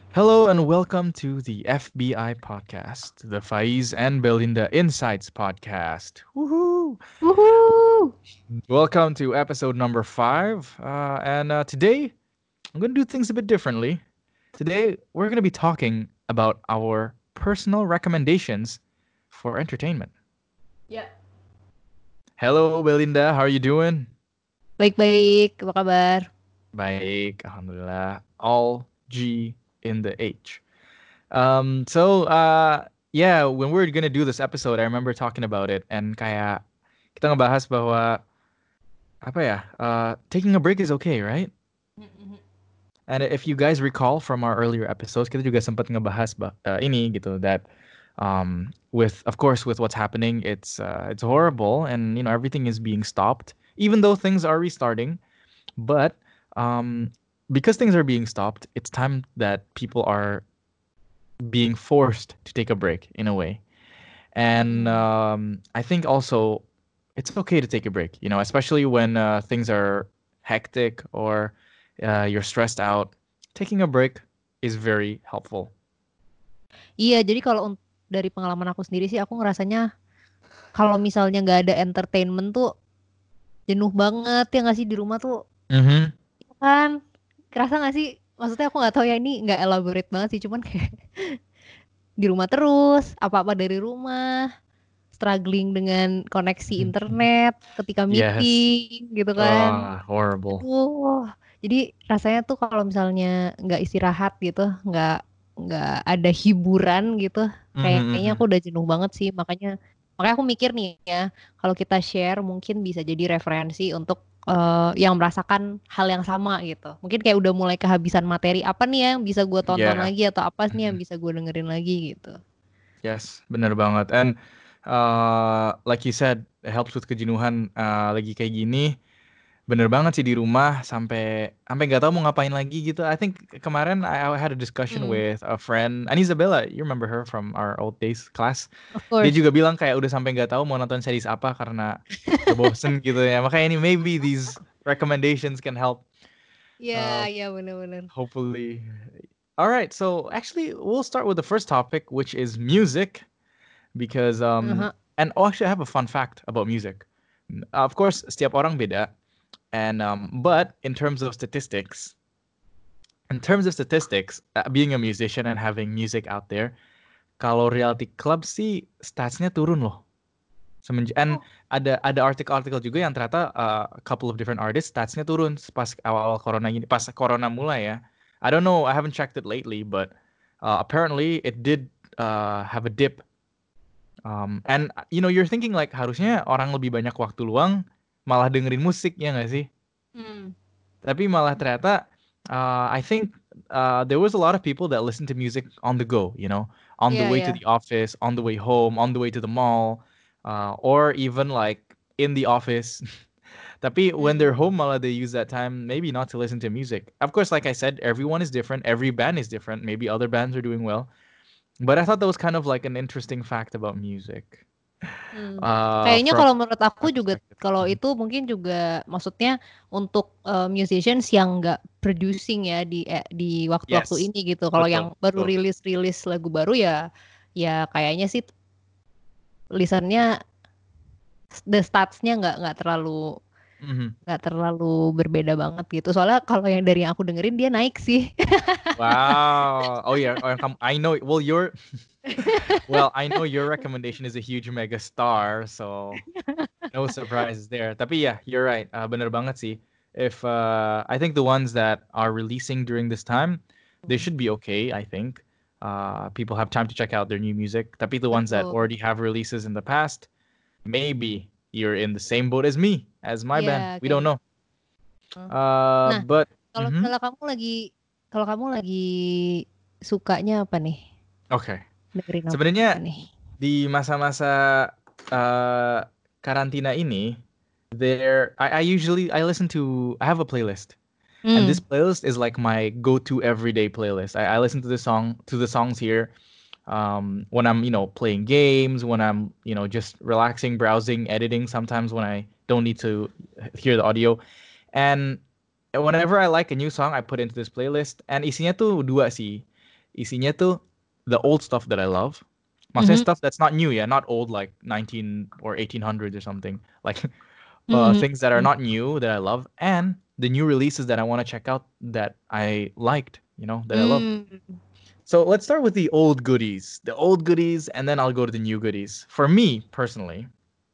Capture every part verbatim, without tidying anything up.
Hello and welcome to the F B I podcast, the Faiz and Belinda Insights podcast. Woohoo! Woohoo! Welcome to episode number five. Uh, and uh, today, I'm going to do things a bit differently. Today, we're going to be talking about our personal recommendations for entertainment. Ya. Hello, Belinda. How are you doing? Baik-baik, apa kabar? Baik, alhamdulillah. All G in the H. Um, so uh, yeah, when we were gonna do this episode, I remember talking about it and kayak kita ngebahas bahwa apa ya, uh, taking a break is okay, right? And if you guys recall from our earlier episodes, kita juga sempat ngebahas bah, uh, ini gitu that um, with of course with what's happening, it's uh, it's horrible and you know everything is being stopped, even though things are restarting. But um, because things are being stopped, it's time that people are being forced to take a break in a way. And um, I think also it's okay to take a break, you know, especially when uh, things are hectic or uh, you're stressed out. Taking a break is very helpful. Iya, jadi kalau un- dari pengalaman aku sendiri sih, aku ngerasanya kalau misalnya nggak ada entertainment tuh jenuh banget ya nggak sih di rumah tuh, Mm-hmm. kan? Kerasa nggak sih? Maksudnya aku nggak tahu ya, ini nggak elaborate banget sih, cuman kayak di rumah terus, apa-apa dari rumah, struggling dengan koneksi internet ketika Yes. meeting gitu kan. Ah, horrible. Aduh, jadi rasanya tuh kalau misalnya nggak istirahat gitu, nggak nggak ada hiburan gitu, Mm-hmm, kayaknya mm-hmm. aku udah jenuh banget sih. Makanya makanya aku mikir nih ya, kalau kita share mungkin bisa jadi referensi untuk eh, yang merasakan hal yang sama gitu. Mungkin kayak udah mulai kehabisan materi apa nih ya yang bisa gue tonton Yeah. lagi atau apa nih yang Mhm. bisa gue dengerin lagi gitu. Yes, bener banget. And uh, like you said, it helps with kejenuhan uh, lagi kayak gini. Bener banget sih di rumah sampai sampai nggak tahu mau ngapain lagi gitu. I think kemarin I, I had a discussion Hmm, with a friend, and Isabella, you remember her from our old days class. of Dia course. juga bilang kayak udah sampai nggak tahu mau nonton series apa karena udah bosen gitu ya. Makanya ini maybe these recommendations can help. Iya, Uh, iya bener-bener. hopefully. All right, so actually we'll start with the first topic, which is music, because um Aha. and oh, actually I have a fun fact about music. Of course, setiap orang beda. And um, but in terms of statistics, in terms of statistics, uh, being a musician and having music out there, kalau reality club sih statsnya turun loh. Semenj- and Oh, ada ada artikel-artikel juga yang ternyata uh, a couple of different artists statsnya turun pas awal-awal corona ini, pas corona mulai ya. I don't know, I haven't checked it lately, but uh, apparently it did uh, have a dip. Um, and uh, you know, you're thinking like harusnya orang lebih banyak waktu luang malah dengerin musik ya nggak sih? hmm. Tapi malah ternyata, uh, I think uh, there was a lot of people that listen to music on the go, you know, on the Iya, way to iya. the office, on the way home, on the way to the mall, uh, or even like in the office. Tapi when they're Hmm. home, malah they use that time maybe not to listen to music. Of course, like I said, everyone is different. Every band is different. Maybe other bands are doing well. But I thought that was kind of like an interesting fact about music. Hmm. Uh, Kayaknya from kalau menurut aku my juga perspective. kalau Mhm. itu mungkin juga maksudnya untuk eh, musicians yang nggak producing ya di eh, di waktu-waktu Yes, ini gitu. Kalau yang betul, baru betul. rilis-rilis lagu baru ya ya kayaknya sih listennya the statsnya nggak nggak terlalu Mhm. nggak terlalu berbeda banget gitu. Soalnya kalau yang dari yang aku dengerin dia naik sih. Wow. Oh yeah. Oh, come- I know. Well, your well, I know your recommendation is a huge mega star, so no surprises there. Tapi yeah, you're right. Uh, bener banget sih. If uh, I think the ones that are releasing during this time, they should be okay. I think uh, people have time to check out their new music. Tapi the ones that Betul. already have releases in the past, maybe you're in the same boat as me, as my Iya, band. We don't kayaknya. know. Uh, Nah, but kalau mhm. misalnya kamu lagi kalau kamu lagi sukanya apa nih? Okay. Dengerin apa Sebenarnya nih? di masa-masa uh, karantina ini, there I, I usually I listen to I have a playlist, and this Hmm. playlist is like my go-to everyday playlist. I, I listen to the song to the songs here um, when I'm you know playing games, when I'm you know just relaxing, browsing, editing. Sometimes when I don't need to hear the audio, and whenever I like a new song, I put into this playlist. And isinya tuh dua sih. isinya tuh the old stuff that I love. Maksudnya Mhm. stuff that's not new ya, not old like nineteen or eighteen hundreds or something. Like uh, Mhm. things that are not new that I love, and the new releases that I want to check out that I liked, you know, that I love. Hmm. So let's start with the old goodies, the old goodies, and then I'll go to the new goodies. For me personally,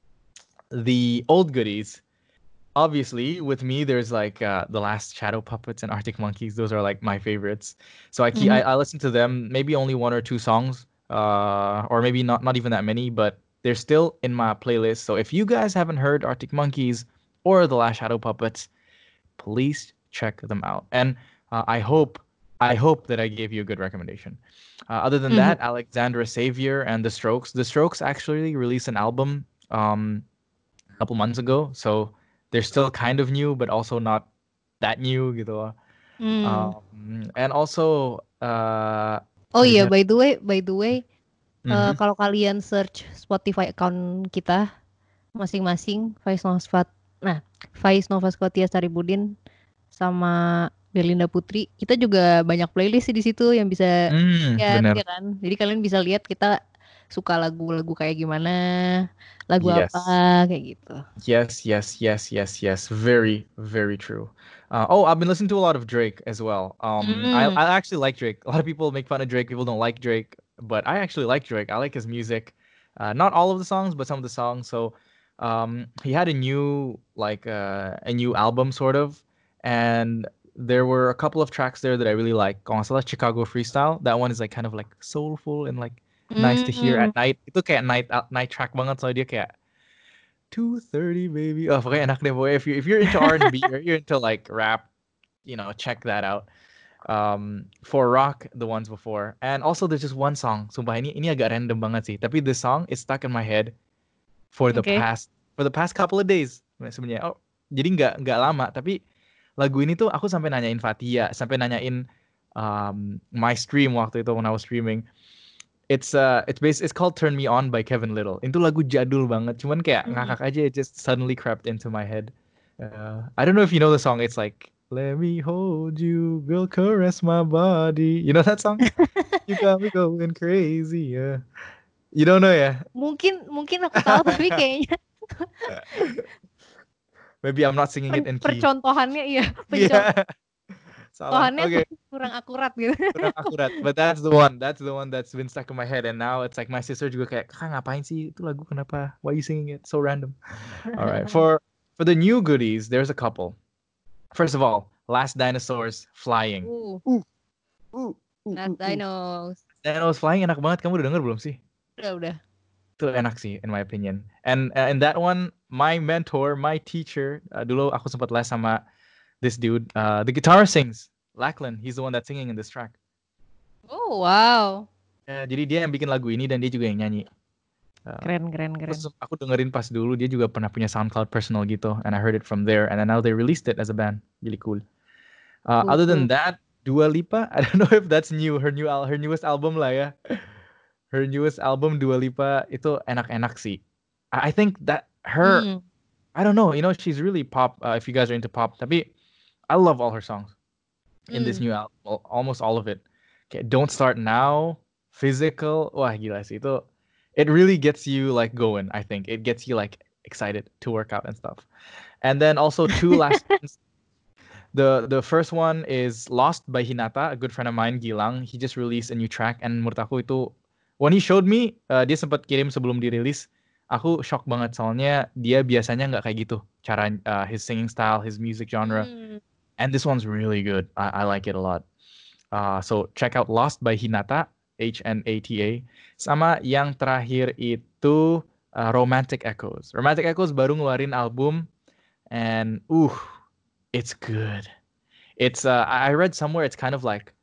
the old goodies, obviously, with me, there's like uh, the Last Shadow Puppets and Arctic Monkeys. Those are like my favorites. So I keep I, Mhm. I listen to them. Maybe only one or two songs, uh, or maybe not not even that many, but they're still in my playlist. So if you guys haven't heard Arctic Monkeys or the Last Shadow Puppets, please check them out. And uh, I hope I hope that I gave you a good recommendation. Uh, other than Mhm. that, Alexandra Savior and The Strokes. The Strokes actually released an album um, a couple months ago, so they're still kind of new, but also not that new gitu. loh. Hmm. Um, and also, uh, Oh what is iya, that? by the way, by the way, eh, Mm-hmm. kalau kalian search Spotify account kita masing-masing, Faiz Novasfat, nah Faiz Nova Scotia Staribudin sama Belinda Putri, kita juga banyak playlist sih di situ yang bisa Mm, lihat bener. ya kan. Jadi kalian bisa lihat kita suka lagu-lagu kayak gimana, lagu apa Yes. kayak gitu. Yes, yes, yes, yes, yes. Very, very true. Uh, oh, I've been listening to a lot of Drake as well. Um, I Hmm. I actually like Drake. A lot of people make fun of Drake. People don't like Drake, but I actually like Drake. I like his music. Uh, not all of the songs, but some of the songs. So, um, he had a new like uh, a new album sort of, and there were a couple of tracks there that I really like. Kalau nggak salah Chicago Freestyle. That one is like kind of like soulful and like nice to hear Hmm. at night. Itu kayak night out night track banget soalnya dia kayak two thirty baby. Oh, pokoknya enak deh boy. If you if you're into R and B or you're into like rap, you know, check that out. Um, for rock, the ones before, and also there's just one song. Sumpah ini ini agak random banget sih. Tapi this song is stuck in my head for the Oke. past for the past couple of days sebenarnya. Oh, jadi nggak nggak lama. Tapi lagu ini tuh aku sampai nanyain Fatia, sampai nanyain um, my stream waktu itu when I was streaming. It's uh it's based it's called Turn Me On by Kevin Little. Itu lagu jadul banget, cuman kayak Hmm. ngakak aja, it just suddenly crept into my head. Uh, I don't know if you know the song. It's like let me hold you, girl, caress my body. You know that song? You got me going crazy. Yeah. You don't know ya? Mungkin mungkin aku tahu tapi kayaknya Maybe I'm not singing it per- in key. percontohannya iya, Yeah. Salah. percontohannya Okay. kurang akurat gitu. Kurang akurat. But that's the one. That's the one that's been stuck in my head. And now it's like my sister juga kayak, kakak ngapain sih itu lagu kenapa? Why are you singing it? So random. All right. For for the new goodies, there's a couple. First of all, Last Dinosaurs Flying. Uh, Ooh, ooh, ooh, Last ooh, ooh. Dinos. Dinosaurs Flying enak banget. Kamu udah denger belum sih? Udah, udah. Itu enak sih, in my opinion. And uh, in that one, my mentor, my teacher, uh, dulu aku sempat les sama this dude. Uh, the guitarist sings. Lachlan, he's the one that's singing in this track. Oh, wow. Ya, jadi dia yang bikin lagu ini dan dia juga yang nyanyi. Uh, Keren, keren, aku, keren. aku dengerin pas dulu dia juga pernah punya SoundCloud personal gitu, and I heard it from there, and then now they released it as a band, really cool. Uh, Cool, other cool. than that, Dua Lipa, I don't know if that's new, her new al- her newest album lah ya, her newest album Dua Lipa itu enak-enak sih. I, I think that her, Hmm. I don't know, you know, she's really pop. Uh, if you guys are into pop, tapi I love all her songs in this Hmm. new album, al- almost all of it. Kayak Don't Start Now, Physical, wah gila sih itu. It really gets you like going, I think. It gets you like excited to work out and stuff. And then also two last ones. The the first one is Lost by Hinata, a good friend of mine, Gilang. He just released a new track and menurut aku itu when he showed me, uh, dia sempat kirim sebelum dirilis. Aku shock banget soalnya dia biasanya nggak kayak gitu cara uh, his singing style, his music genre. Hmm. And this one's really good. I, I like it a lot. Uh, so check out Lost by Hinata, H N A T A. Sama yang terakhir itu uh, Romantic Echoes. Romantic Echoes baru ngeluarin album and uh, it's good. It's uh, I read somewhere it's kind of like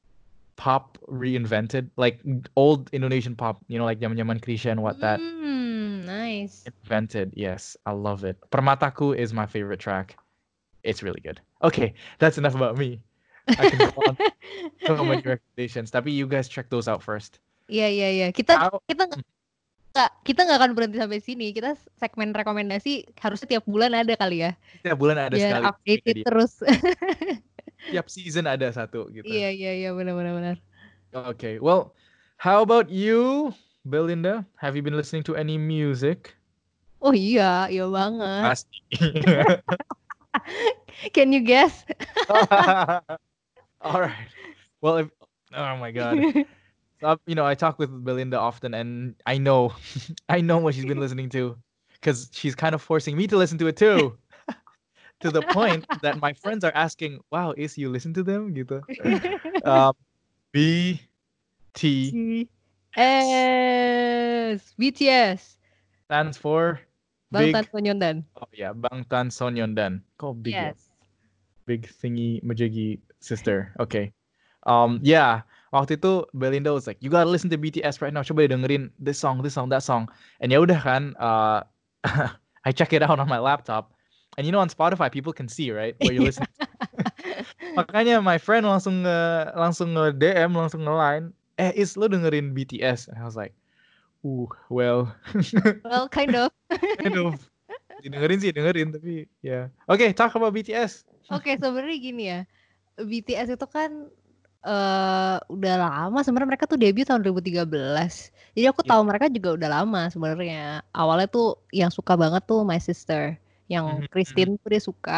pop reinvented, like old Indonesian pop, you know, like zaman-zaman Krisya and what that Hmm, nice. invented. Yes, I love it. Permataku is my favorite track. It's really good. Okay, that's enough about me. I can go on so many recommendations. Tapi you guys check those out first. Iya, iya, iya. Kita How- kita nggak kita nggak akan berhenti sampai sini. Kita segmen rekomendasi harusnya tiap bulan ada kali ya. Setiap bulan ada Biar sekali. updated Jadi, terus. tiap season ada satu gitu. Iya, iya, iya, benar, benar, benar. Okay. Well, how about you, Belinda? Have you been listening to any music? Oh iya, iya banget. Pasti. Can you guess? All right. Well, if oh my god. So, you know, I talk with Belinda often, and I know, I know what she's been listening to, because she's kind of forcing me to listen to it too. To the point that my friends are asking, "Wow, is you listen to them?" Gitu. Um, B T S B T S stands for Bangtan big. Sonyeondan. Oh yeah, Bangtan Sonyeondan. Kok big ya? Yes. Big thingy majigi sister. Okay. Um, yeah. Waktu itu Belinda was like, you gotta listen to B T S right now. Coba deh dengerin this song, this song, that song. And ya udah kan, uh, I check it out on my laptop. And you know on Spotify people can see right where you listen. Makanya my friend langsung nge langsung nge D M, langsung nge line, eh is lo dengerin B T S? And I was like, uh, well, Well, kind of. kind of. Dengerin sih dengerin tapi ya. Yeah. Okay, talk about B T S. Oke, sebenarnya gini ya. B T S itu kan uh, udah lama sebenarnya, mereka tuh debut tahun dua ribu tiga belas. Jadi aku tahu Yeah. mereka juga udah lama sebenarnya. Awalnya tuh yang suka banget tuh My Sister, yang Mhm, mhm. Christine tuh dia suka,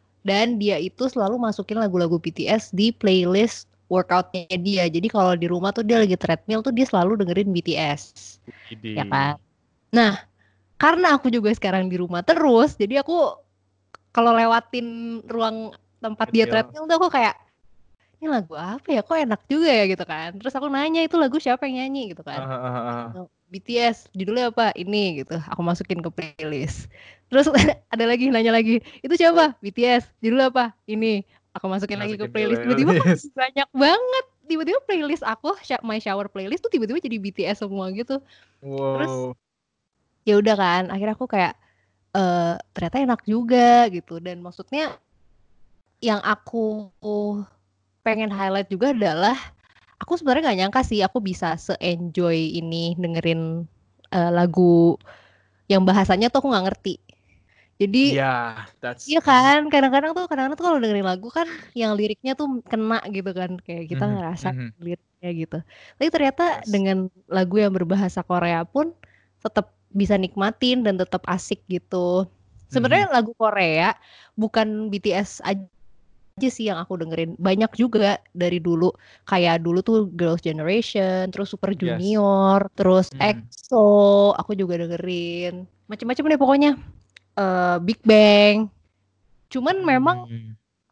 dan dia itu selalu masukin lagu-lagu B T S di playlist workoutnya dia. Jadi kalau di rumah tuh dia lagi treadmill tuh dia selalu dengerin B T S. Ya kan? Widih. Nah, karena aku juga sekarang di rumah terus, jadi aku kalau lewatin ruang tempat dia Treadmill. treadmill tuh aku kayak, ini lagu apa ya, kok enak juga ya gitu kan. Terus aku nanya itu lagu siapa yang nyanyi gitu kan. Uh, uh, uh, uh. B T S, judulnya apa? Ini gitu. Aku masukin ke playlist. Terus ada lagi nanya lagi, itu siapa? B T S, judulnya apa? Ini. Aku masukin lagi ke Masukin playlist. Tiba-tiba playlist. banyak banget. Tiba-tiba playlist aku, my shower playlist tuh tiba-tiba jadi B T S semua gitu. Terus Wow. ya udah kan, akhirnya aku kayak eh ternyata enak juga gitu. Dan maksudnya yang aku pengen highlight juga adalah aku sebenarnya nggak nyangka sih aku bisa se-enjoy ini dengerin uh, lagu yang bahasanya tuh aku nggak ngerti. Jadi Yeah, that's iya kan, kadang-kadang tuh kadang-kadang tuh kalau dengerin lagu kan yang liriknya tuh kena gitu kan, kayak kita Mhm, ngerasa mhm. liriknya gitu. Tapi ternyata Yes. dengan lagu yang berbahasa Korea pun tetap bisa nikmatin dan tetap asik gitu. Sebenarnya Mhm. lagu Korea bukan B T S aja sih yang aku dengerin, banyak juga dari dulu, kayak dulu tuh Girls' Generation, terus Super Yes. Junior, terus Mhm. EXO aku juga dengerin, macem-macem deh pokoknya, uh, Big Bang. Cuman memang Hmm.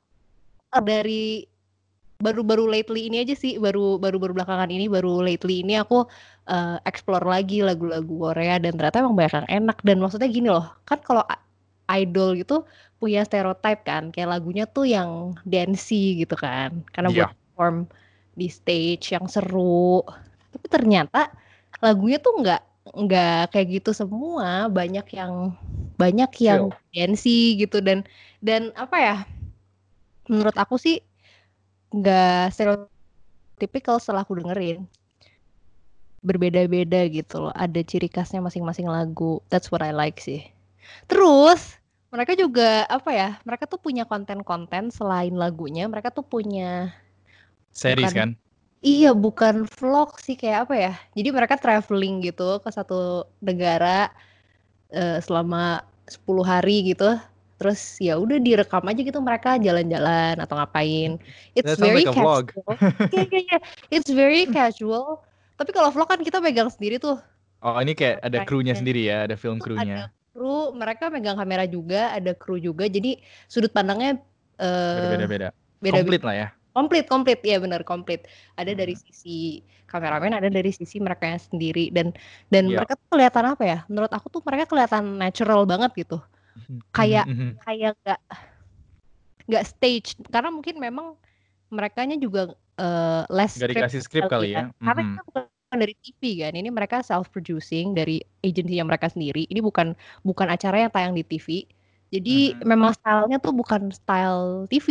uh, dari baru-baru lately ini aja sih, baru baru-baru belakangan ini, baru lately ini aku uh, explore lagi lagu-lagu Korea dan ternyata emang banyak yang enak. Dan maksudnya gini loh, kan kalau idol gitu punya stereotype kan, kayak lagunya tuh yang dancey gitu kan, karena buat Yeah. perform di stage yang seru. Tapi ternyata lagunya tuh nggak nggak kayak gitu semua, banyak yang banyak yang Chill. dancey gitu. Dan dan apa ya, menurut aku sih nggak stereotypical setelah aku dengerin, berbeda-beda gitu loh, ada ciri khasnya masing-masing lagu. That's what I like sih. Terus mereka juga apa ya, mereka tuh punya konten-konten selain lagunya, mereka tuh punya Series bukan kan? iya bukan vlog sih, kayak apa ya, jadi mereka traveling gitu ke satu negara uh, selama sepuluh hari gitu. Terus ya udah direkam aja gitu mereka jalan-jalan atau ngapain. It's That sounds very like a vlog. casual. Iya iya iya. It's very casual. Tapi kalau vlog kan kita megang sendiri tuh. Oh, ini kayak ada krunya Kameranya. sendiri ya, ada film Tuh ada krunya. kru, mereka megang kamera juga, ada kru juga. Jadi sudut pandangnya uh, Beda-beda. beda-beda. Komplit lah ya. Komplit, komplit, ya benar komplit. Ada dari Hmm. sisi kameramen, ada dari sisi mereka sendiri, dan dan Yeah. mereka tuh kelihatan apa ya? Menurut aku tuh mereka kelihatan natural banget gitu. Mhm, Kayak mhm. kayak nggak nggak stage, karena mungkin memang merekanya juga uh, less Nggak script dikasih skrip kali kali ya. ya. Karena Mhm. kita bukan dari T V kan, ini mereka self producing dari agensinya mereka sendiri. Ini bukan bukan acara yang tayang di T V. Jadi Mhm. memang stylenya tuh bukan style T V.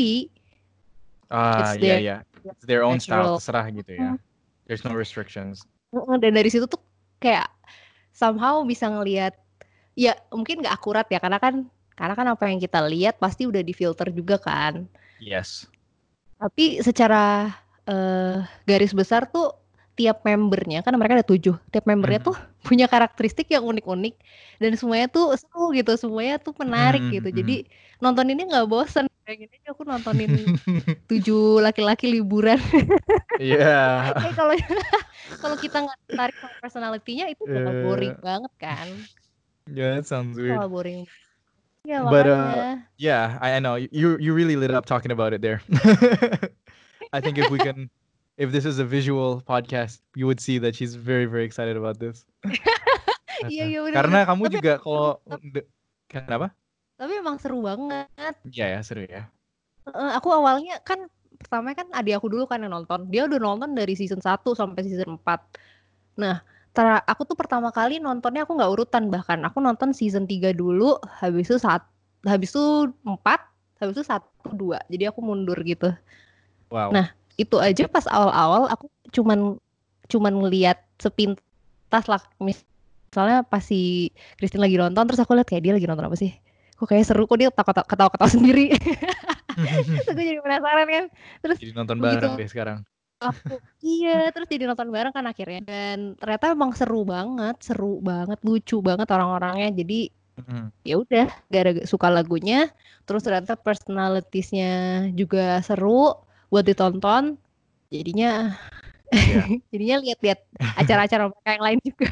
Ah, It's iya their ya. It's their own style, natural. terserah gitu ya. There's no restrictions. Dan dari situ tuh kayak somehow bisa ngelihat, ya mungkin nggak akurat ya, karena kan karena kan apa yang kita lihat pasti udah difilter juga kan. Yes. Tapi secara eh garis besar tuh tiap membernya, kan mereka ada tujuh, tiap membernya Mhm. tuh punya karakteristik yang unik-unik dan semuanya tuh seru gitu, semuanya tuh menarik Mhm gitu. mhm. Jadi nonton ini nggak bosen. Kayak gini aja aku nontonin tujuh laki-laki liburan. Iya. Kayak kalau kalau kita nggak tertarik sama personality-nya itu bakal boring Eee, banget kan. yeah, that sounds Itu bakal weird. boring. Ya But, makanya. uh, yeah, I I know. You you really lit up talking about it there. I think if we can if this is a visual podcast, you would see that she's very, very excited about this. Iya Heeh. iya bener-bener. Karena kamu Tapi juga seru. kalau de kenapa? Tapi emang seru banget. Iya ya, seru ya. Heeh, aku awalnya kan pertama kan adik aku dulu kan yang nonton. Dia udah nonton dari season satu sampai season empat. Nah, tera- aku tuh pertama kali nontonnya aku nggak urutan bahkan. Aku nonton season tiga dulu, habis itu saat habis itu empat, habis itu satu dua. Jadi aku mundur gitu. Wow. Nah, itu aja pas awal-awal aku cuman cuman ngeliat sepintas lah. Misalnya pas si Christine lagi nonton terus aku lihat kayak dia lagi nonton apa sih? Kok kayak seru, kok dia ketawa-ketawa sendiri. Terus gue jadi penasaran kan. Terus Jadi nonton begitu bareng deh sekarang. aku iya terus jadi nonton bareng kan akhirnya dan ternyata emang seru banget, seru banget, lucu banget orang-orangnya. Jadi Mhm. ya udah gara suka lagunya, terus ternyata personalitiesnya juga seru buat ditonton. Jadinya Iya. jadinya lihat-lihat acara-acara mereka yang lain juga.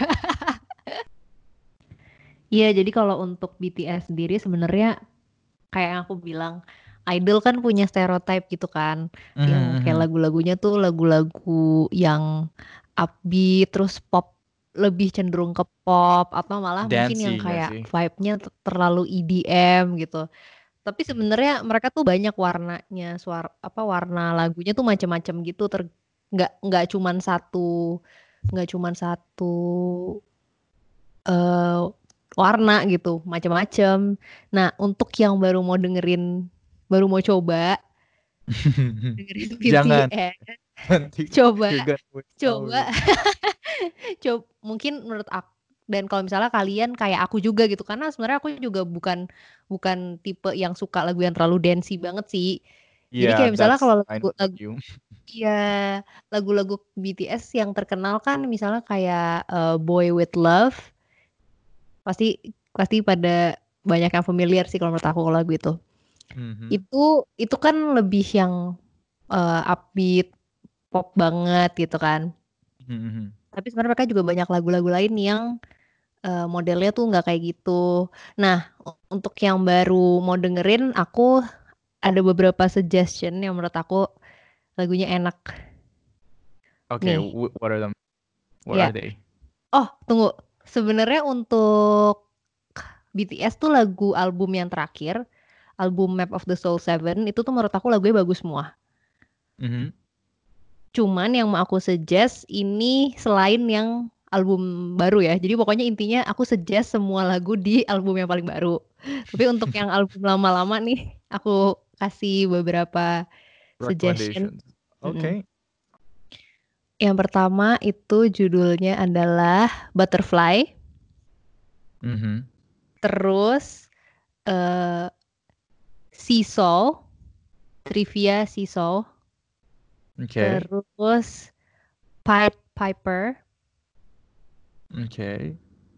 Iya, jadi kalau untuk B T S sendiri sebenarnya kayak yang aku bilang, idol kan punya stereotype gitu kan, Mhm yang kayak mhm. lagu-lagunya tuh lagu-lagu yang upbeat, terus pop, lebih cenderung ke pop, atau malah mungkin yang Dancey nggak kayak sih? vibe-nya t- terlalu E D M gitu. Tapi sebenarnya mereka tuh banyak warnanya, suara apa warna lagunya tuh macam-macam gitu, ter nggak nggak cuman satu nggak cuman satu eh warna gitu, macam-macam. Nah, untuk yang baru mau dengerin, baru mau coba dengerin Jangan, B T S, nanti coba, you're gonna waste coba, hours. coba. Mungkin menurut aku dan kalau misalnya kalian kayak aku juga gitu, karena sebenarnya aku juga bukan bukan tipe yang suka lagu yang terlalu dancey banget sih. Jadi Yeah, kayak misalnya that's kalau I lagu, know lagu you. ya lagu-lagu B T S yang terkenal kan misalnya kayak eh, Boy With Love, pasti pasti pada banyak yang familiar sih kalau menurut aku kalau lagu itu. Mhm. Itu itu kan lebih yang eh, upbeat, pop banget gitu kan. Mhm mhm. Tapi sebenarnya mereka juga banyak lagu-lagu lain yang eh, modelnya tuh nggak kayak gitu. Nah, u- untuk yang baru mau dengerin, aku ada beberapa suggestion yang menurut aku lagunya enak Okay, nih. wh what are them? What Ya, are they? oh tunggu. Sebenarnya untuk B T S tuh lagu album yang terakhir, album Map of the Soul Seven itu tuh menurut aku lagunya bagus semua. Mhm. Cuman yang mau aku suggest ini selain yang album baru ya. Jadi pokoknya intinya aku suggest semua lagu di album yang paling baru. Tapi untuk yang album lama-lama nih, aku kasih beberapa suggestion. Recommendations. Mm-mm. Okay. Yang pertama itu judulnya adalah Butterfly. Mhm. Terus eh Seesaw, Trivia Seesaw. Okay. Terus Pied Piper. Okay.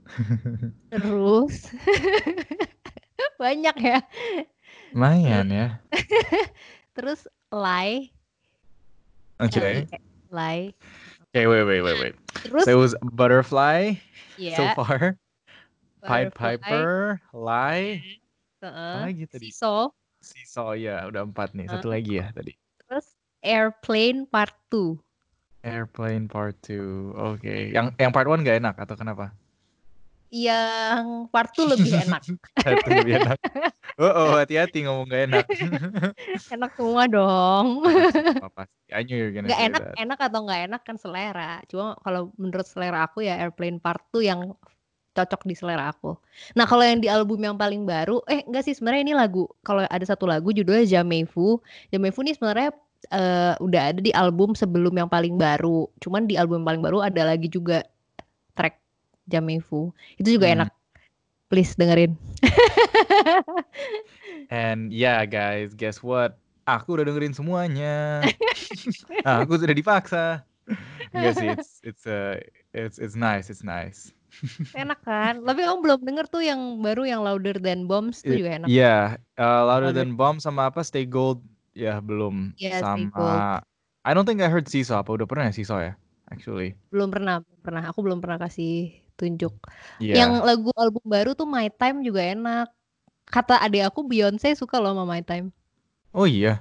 Terus banyak ya. Lumayan Terus ya. terus Lie, L I Okay. E Lie. Okay, wait, wait, wait, wait. Terus So it was Butterfly so ya far, Pied Butterfly, Piper, Lie, apa heeh, lagi tadi? Seesaw, Seesaw ya, udah empat nih. Satu heeh. lagi ya tadi. Terus Airplane Part two. Airplane Part Two. Oke. Yang yang Part One nggak enak atau kenapa? Yang Part two lebih enak. Satu lebih enak. Oh, oh, hati-hati ngomong nggak enak. Enak semua dong. Enak semua pasti. I knew you're gonna Nggak say enak, that. enak atau nggak enak kan selera. Cuma kalau menurut selera aku ya Airplane Part two yang cocok di selera aku. Nah, kalau yang di album yang paling baru, eh enggak sih sebenarnya ini lagu. Kalau ada satu lagu judulnya Jamaifu. Jamaifu ini sebenarnya eh, udah ada di album sebelum yang paling baru. Cuman di album yang paling baru ada lagi juga track Jamaifu. Itu juga Hmm. enak. Please dengerin. And yeah, guys, guess what? Aku udah dengerin semuanya. Aku sudah dipaksa. Enggak sih, it's it's uh, it's it's nice, it's nice. Enak kan? Tapi kamu belum denger tuh yang baru yang Louder Than Bombs tuh I- juga enak. Iya, uh, Louder Louder, Than Bomb sama apa? Stay Gold. Ya belum. ya Stay Gold. Sama I don't think I heard Seesaw. Apa udah pernah ya Seesaw ya? Actually. Belum pernah, belum pernah. Aku belum pernah kasih tunjuk. Yang Iya. lagu album baru tuh My Time juga enak. Kata adik aku Beyonce suka loh sama My Time. Oh iya.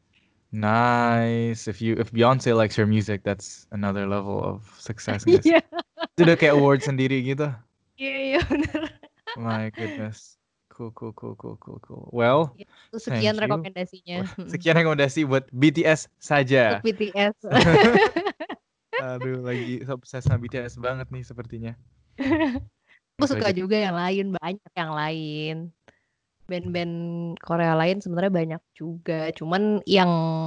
Nice. If you if Beyonce likes your music, that's another level of success, nggak sih? Iya, Itu udah kayak award sendiri gitu. iya, iya bener. My goodness. Cool, cool, cool, cool, cool, cool. Well, Ya, itu sekian thank you. rekomendasinya. Sekian rekomendasi buat B T S Untuk saja. B T S. Aduh, lagi obses sama B T S banget nih sepertinya. Aku Itu suka aja. juga yang lain, banyak yang lain. Band-band Korea lain sebenarnya banyak juga. Cuman yang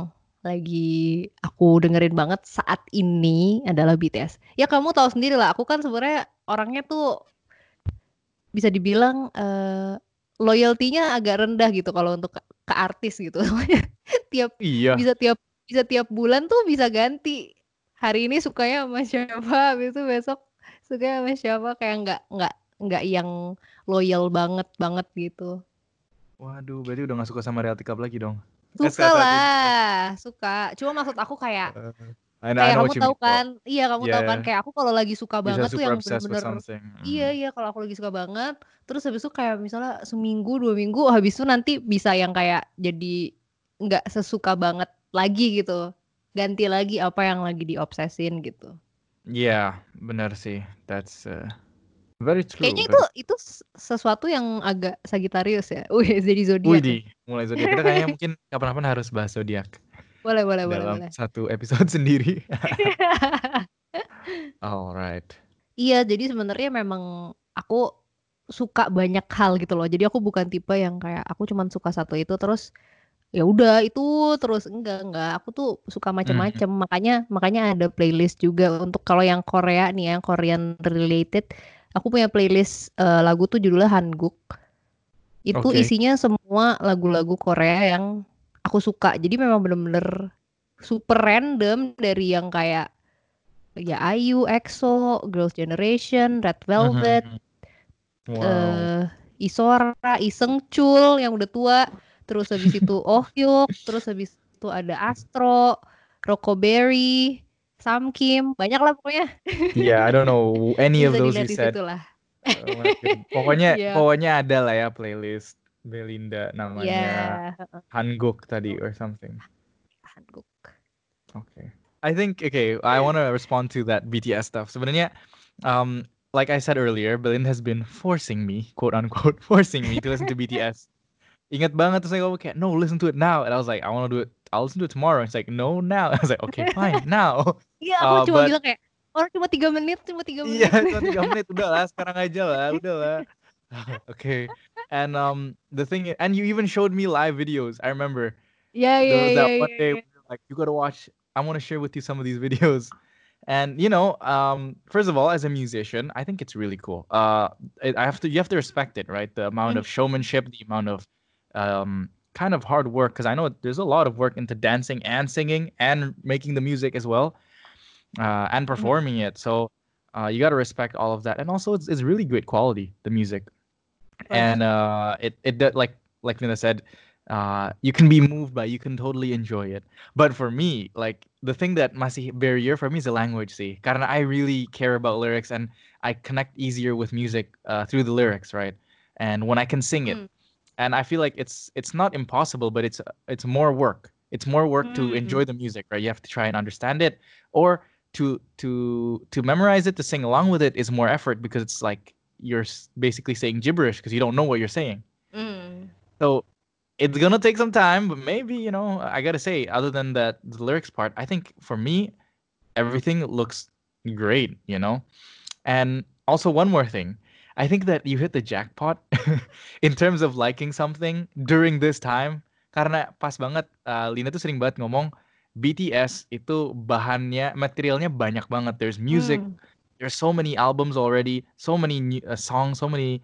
lagi aku dengerin banget saat ini adalah B T S. Ya kamu tahu sendiri lah, aku kan sebenarnya orangnya tuh bisa dibilang eh, loyalty-nya agak rendah gitu kalau untuk ke, ke artis gitu. tiap Iya. bisa tiap bisa tiap bulan tuh bisa ganti. Hari ini sukanya sama siapa, habis itu besok sukanya sama siapa, kayak nggak nggak nggak yang loyal banget banget gitu. Waduh, berarti udah gak suka sama Reality Club lagi dong. Eh, Suka saat-saat ini. lah, suka. Cuma maksud aku kayak Uh, I know, I kayak know kamu what you tahu mean though. kan, iya kamu tahu kan Yeah, kayak aku kalau lagi suka bisa banget tuh super yang obsessed with bener-bener something. iya Mm. iya kalau aku lagi suka banget, terus habis itu kayak misalnya seminggu dua minggu habis itu nanti bisa yang kayak jadi nggak sesuka banget lagi gitu, ganti lagi apa yang lagi diobsesin gitu. Yeah, benar sih. That's uh, very true. Kayaknya itu Very... itu s- sesuatu yang agak Sagittarius ya. Wih, jadi zodiak nih. Widih, mulai zodiak. Kita kayaknya mungkin kapan-kapan harus bahas zodiak Boleh, boleh, boleh, dalam boleh. satu episode sendiri. Alright. Iya, jadi sebenarnya memang aku suka banyak hal gitu loh. Jadi aku bukan tipe yang kayak aku cuman suka satu itu terus ya udah itu terus enggak enggak. Aku tuh suka Mhm. macam-macam. Makanya makanya ada playlist juga untuk kalau yang Korea nih yang Korean related. Aku punya playlist eh, lagu tuh judulnya Hanguk. Itu Oke. isinya semua lagu-lagu Korea yang aku suka. Jadi memang bener-bener super random dari yang kayak ya I U, EXO, Girls' Generation, Red Velvet, Mhm. Wow. eh Isora, Isengchul yang udah tua, terus habis itu Oh Hyuk, terus habis itu ada Astro, Rockoberry, Samkim, banyak lah pokoknya. Yeah, I don't know any of Bisa those you dilihat di said. situ lah. Oh my God. Pokoknya Iya, pokoknya ada lah ya playlist Belinda iya, namanya Hanguk tadi or something. Hanguk. Okay. I think okay, I want to respond to that B T S stuff. Sebenarnya um like I said earlier, Belinda has been forcing me, quote unquote, forcing me to listen to B T S. Ingat banget terus saya ngomong kayak, no, listen to it now. And I was like, I want to do it. I'll listen to it tomorrow. It's like, no, now. I was like, okay, fine, now. Iya, aku Uh, cuma but bilang kayak orang cuma tiga menit, cuma tiga iya, menit. cuma tiga menit. Udah lah, sekarang aja lah. Udah lah. Okay. And um, the thing, and you even showed me live videos. I remember Iya, iya, there was iya, that one iya, day iya. where you're like, you gotta watch. I want to share with you some of these videos. And you know, um, first of all, as a musician, I think it's really cool. Uh, it, I have to, you have to respect it, right? The amount of showmanship, the amount of um, kind of hard work, because I know there's a lot of work into dancing and singing and making the music as well, uh, and Mhm. performing it. So uh, you got to respect all of that. And also, it's, it's really great quality, the music. And Pasti. uh, it it did- like like Nina said, uh, you can be moved by, you can totally enjoy it. But for me, like the thing that masih barrier for me is the language. See, karena I really care about lyrics and I connect easier with music uh, through the lyrics, right? And when I can sing it, Hmm. and I feel like it's it's not impossible, but it's it's more work. It's more work to Hmm. enjoy the music, right? You have to try and understand it, or to to to memorize it, to sing along with it is more effort because it's like you're s- basically saying gibberish because you don't know what you're saying. Hmm. So it's gonna take some time, but maybe you know I gotta say, other than that the lyrics part, I think for me everything looks great, you know. And also one more thing, I think that you hit the jackpot in terms of liking something during this time. Karena pas banget, uh, Lina tuh sering banget ngomong B T S itu bahannya, materialnya banyak banget. There's music, Hmm. there's so many albums already, so many new, uh, songs, so many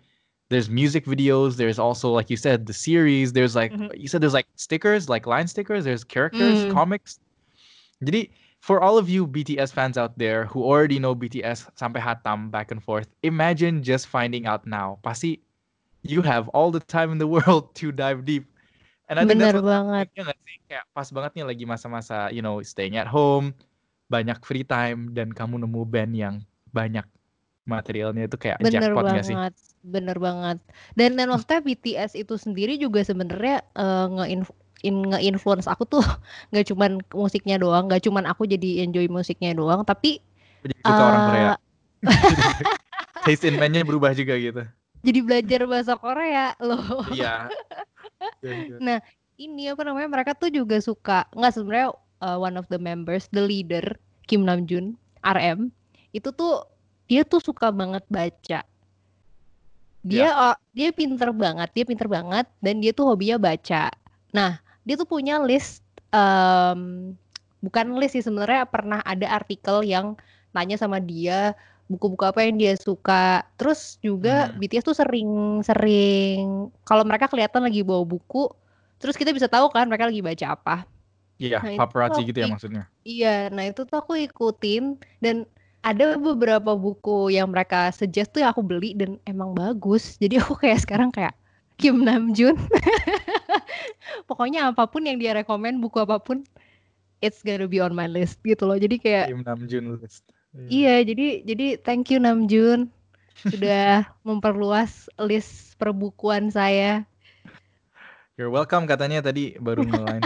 There's music videos. There's also, like you said, the series. There's like Mhm. you said, there's like stickers, like line stickers. There's characters, Mm. comics. Jadi for all of you B T S fans out there who already know B T S sampai hatam back and forth, imagine just finding out now. Pasti you have all the time in the world to dive deep. And I think that's Bener what's banget. happening, ya nggak sih? Kayak pas banget nih lagi masa-masa, you know, staying at home, banyak free time, dan kamu nemu band yang banyak materialnya itu kayak Bener jackpot nggak sih? banget, bener banget. Dan dan maksudnya B T S itu sendiri juga sebenarnya eh, nge-inf- in- nge-influence aku tuh nggak cuman musiknya doang, nggak cuman aku jadi enjoy musiknya doang, tapi Aku jadi suka orang Korea. eh Taste in man-nya berubah juga gitu. jadi belajar bahasa Korea loh. Iya. Good, good. Nah, ini apa namanya? Mereka tuh juga suka nggak sebenarnya uh, one of the members, the leader Kim Namjoon, R M, itu tuh dia tuh suka banget baca. Dia Ya. uh, dia pinter banget, dia pinter banget dan dia tuh hobinya baca. Nah, dia tuh punya list um, bukan list sih sebenarnya pernah ada artikel yang tanya sama dia buku-buku apa yang dia suka. Terus juga Hmm. B T S tuh sering-sering kalau mereka kelihatan lagi bawa buku, terus kita bisa tahu kan mereka lagi baca apa. Iya, Nah, itu tuh paparazzi aku gitu ya ik- maksudnya. iya, nah itu tuh aku ikutin dan ada beberapa buku yang mereka suggest tuh yang aku beli dan emang bagus. Jadi aku kayak sekarang kayak Kim Namjoon. Pokoknya apapun yang dia rekomen, buku apapun, it's gonna be on my list gitu loh. Jadi kayak Kim Namjoon list. Iya. iya, jadi jadi thank you Namjoon sudah memperluas list perbukuan saya. You're welcome katanya tadi baru nge-line.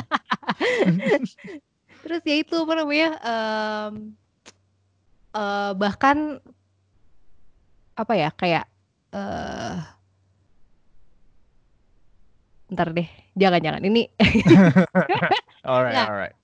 Terus ya itu apa namanya? em, eh, bahkan apa ya kayak eh ntar deh, jangan-jangan ini. Alright, Nah, alright.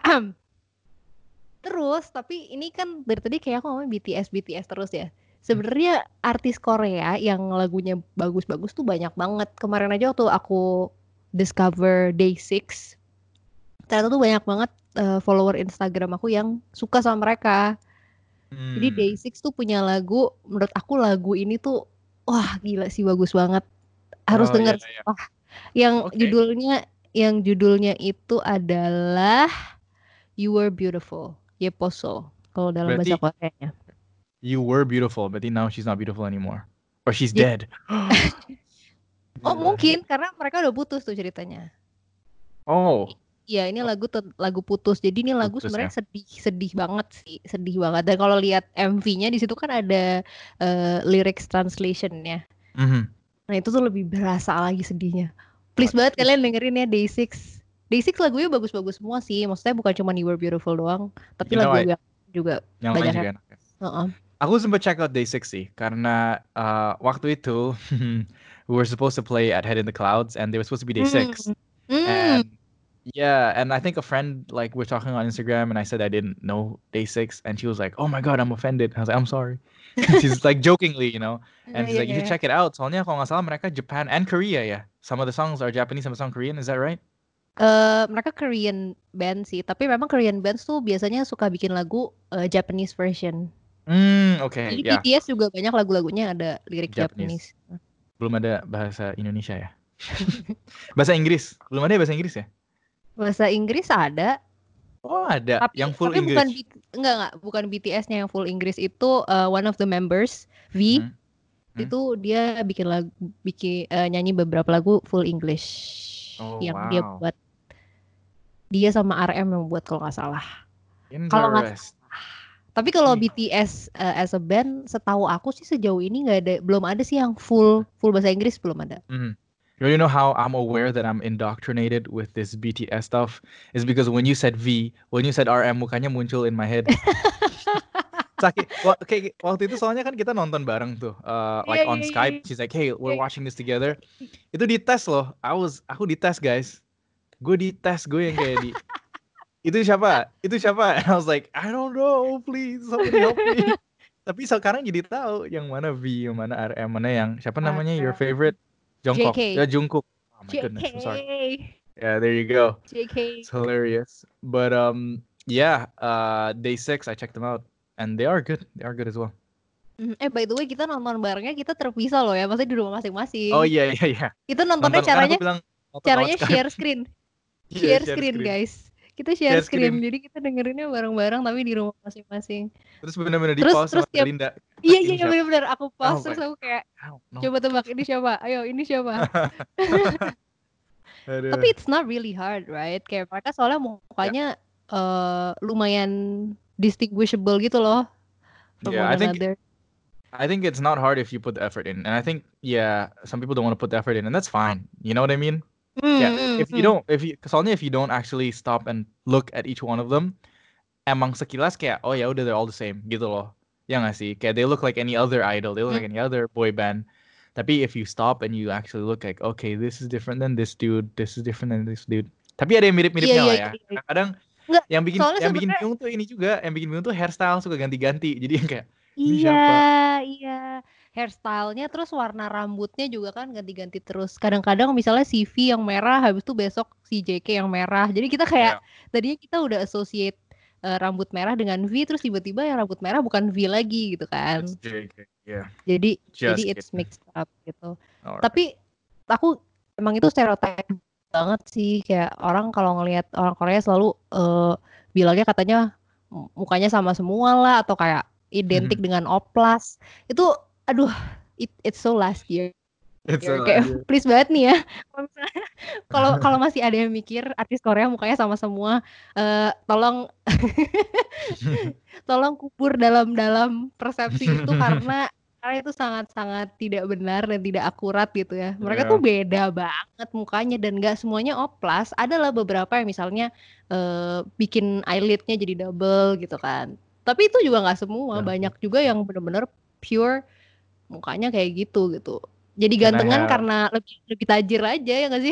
terus tapi ini kan dari tadi kayak aku ngomongin B T S B T S terus ya. Sebenarnya artis Korea yang lagunya bagus-bagus tuh banyak banget. Kemarin aja waktu aku discover Day Six, ternyata tuh banyak banget eh, follower Instagram aku yang suka sama mereka. Jadi Day Hmm. Six tuh punya lagu, menurut aku lagu ini tuh wah gila sih bagus banget. Harus Oh iya denger iya. sumpah. Yang Oke. judulnya yang judulnya itu adalah You Were Beautiful, Yeposo kalau dalam bahasa Berarti Koreanya. you were beautiful, berarti now she's not beautiful anymore. Or she's Jadi, dead. oh Gila. mungkin karena mereka udah putus tuh ceritanya. Oh, Iya ini lagu te- lagu putus. Jadi ini lagu putus sebenarnya ya. sedih sedih banget sih, sedih banget. Dan kalau lihat M V-nya di situ kan ada eh, lyrics translation-nya. Mhm. Nah itu tuh lebih berasa lagi sedihnya. Please Waduh. banget kalian dengerin ya Day Six. Day Six lagunya bagus-bagus semua sih. Maksudnya bukan cuma You Were Beautiful doang, tapi You know, I, lagu-lagu yang juga yang lain banyak juga yang. enak ya. Heeh. Aku sempat check out Day Six sih, karena uh, waktu itu we were supposed to play at Head in the Clouds, and they were supposed to be Day Six. Hmm. Hmm. And yeah, and I think a friend, like, we're talking on Instagram, and I said I didn't know Day Six, and she was like, "Oh my god, I'm offended." I was like, "I'm sorry." She's like jokingly, you know, and she's Iya, like, "You iya, should iya. check it out." Soalnya kalau nggak salah mereka Japan and Korea ya. Some of the songs are Japanese, some of the songs Korean. Is that right? Eh, mereka Korean band sih, tapi memang Korean bands tuh biasanya suka bikin lagu eh, Japanese version. Hmm, okay, Jadi yeah, B T S juga banyak lagu-lagunya ada lirik Japanese. Japanese. Belum ada bahasa Indonesia ya. Bahasa Inggris. Belum ada ya bahasa Inggris ya? Bahasa Inggris ada, Oh, ada. tapi Yang full tapi bukan English. B- enggak enggak bukan B T S-nya yang full Inggris itu eh, one of the members V Hmm. Hmm. itu dia bikin lagu bikin eh, nyanyi beberapa lagu full English Oh, yang dia wow. buat dia sama R M yang buat kalau nggak salah. Kalau nggak Interest. Tapi kalau Hmm. B T S uh, as a band, setahu aku sih sejauh ini nggak ada, belum ada sih yang full full bahasa Inggris belum ada. Mhm. You know how I'm aware that I'm indoctrinated with this B T S stuff is because when you said V, when you said R M, mukanya muncul in my head. Sakit. Wa- kayak waktu itu soalnya kan kita nonton bareng tuh, uh, like Iya on iya iya. Skype. She's like, "Hey, we're Iya. watching this together." Itu dites loh. I was, aku dites guys. Gue dites, gue yang kayak di. Itu siapa? Itu siapa? And I was like, I don't know, please somebody help me. Tapi sekarang jadi tahu yang mana V, yang mana R M, mana yang siapa namanya your favorite? Jungkook. J K. Ya Jungkook. Oh my J goodness, I'm sorry. K. Yeah, there you go. J K. It's hilarious. But um, yeah, uh, Day Six, I checked them out, and they are good. They are good as well. Mhm, eh by the way kita nonton barengnya kita terpisah loh ya, maksudnya di rumah Oh masing-masing. iya iya iya. Itu nontonnya Nonton kan aku caranya bilang nonton lewat caranya Skype. share screen. Iya, Share share screen screen. guys. Kita share Share screen. screen. Jadi kita dengerinnya bareng-bareng tapi di rumah masing-masing. Terus benar-benar di Terus pause terus sama tiap Linda. iya iya Ini iya siapa? benar-benar aku Oh pause my, terus aku kayak I don't know. coba tebak ini siapa? Ayo ini siapa? Tapi Aduh. it's not really hard, right? Kayak mereka soalnya Yeah. mukanya eh, lumayan distinguishable gitu loh from Yeah, one I think another. I think it's not hard if you put the effort in. And I think yeah, some people don't want to put the effort in, and that's fine. You know what I mean? Yeah, Hmm, if hmm, you hmm. don't if you soalnya if you don't actually stop and look at each one of them, emang sekilas kayak oh ya udah they're all the same gitu loh. Ya nggak sih? Kayak they look like any other idol, they look like Hmm. any other boy band. Tapi if you stop and you actually look like okay, this is different than this dude, this is different than this dude. Tapi ada yang Iya mirip-miripnya iya lah iya. ya. iya. Kadang Enggak, yang bikin soalnya yang bikin sebenarnya bingung tuh ini juga, yang bikin bingung tuh hairstyle suka ganti-ganti. Jadi yang kayak ini iya siapa? iya hairstylenya terus warna rambutnya juga kan ganti-ganti terus. Kadang-kadang misalnya si V yang merah, habis itu besok si J K yang merah. Jadi kita kayak Ya, tadinya kita udah associate eh, rambut merah dengan V, terus tiba-tiba yang rambut merah bukan V lagi gitu it's kan. J K. Yeah, Jadi jadi just it's kidding. mixed up gitu. Alright. Tapi aku emang itu stereotype banget sih kayak orang kalau ngelihat orang Korea selalu eh, bilangnya katanya m- mukanya sama semua lah atau kayak identik dengan oplas. Itu aduh it, it's so last year. It's a Kayak idea. please banget nih ya. Kalau misalnya- Kalau kalau masih ada yang mikir artis Korea mukanya sama semua, eh, tolong tolong kubur dalam-dalam persepsi itu karena karena itu sangat-sangat tidak benar dan tidak akurat gitu ya. Mereka tuh Yeah. beda banget mukanya dan nggak semuanya oplas. Adalah beberapa yang misalnya eh, bikin eyelidnya jadi double gitu kan. Tapi itu juga nggak semua. Yeah. Banyak juga yang benar-benar pure mukanya kayak gitu gitu. Jadi Can I gantengan have karena lebih lebih tajir aja ya nggak sih?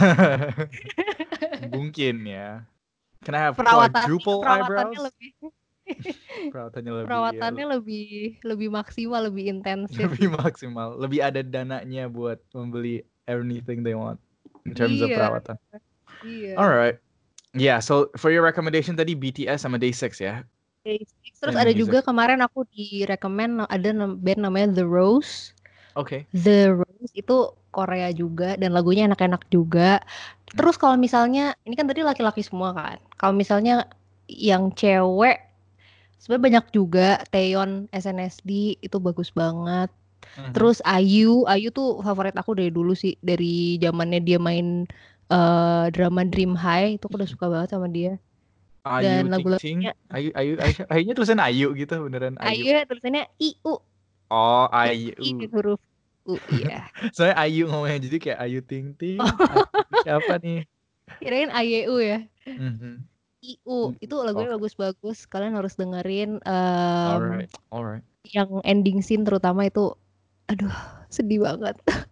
mungkin ya. Can I have Perawatannya quadruple perawatannya eyebrows? lebih Perawatannya lebih ya, perawatannya lebih lebih maksimal, lebih intensif lebih gitu. maksimal, lebih ada dananya buat membeli anything they want in terms of Iya, perawatan. iya. Alright, yeah. So for your recommendation tadi B T S sama Day six ya. Day six. Terus And ada music. juga kemarin aku direkomend ada nam- band namanya The Rose. Okay. The Rose itu Korea juga dan lagunya enak-enak juga. Terus kalau misalnya ini kan tadi laki-laki semua kan. Kalau misalnya yang cewek sebenarnya banyak juga Taeyeon S N S D itu bagus banget. Mhm. Terus Ayu, Ayu tuh favorit aku dari dulu sih, dari zamannya dia main eh, drama Dream High itu aku udah suka banget sama dia. Ayu Dan Ting Ting, lagu-lagunya Ayu Ayu Ayu, Ayunya tulisan Ayu gitu beneran Ayu. Ayu tulisannya I U, Oh I Ayu. huruf U, iya. Soalnya Ayu ngomongnya jadi kayak Ayu Ting Ting. Ayu siapa nih? Kirain A Y U ya. Mhm. I U itu lagunya Okay. bagus-bagus, kalian harus dengerin. em, Alright, alright. Yang ending scene terutama itu, aduh sedih banget.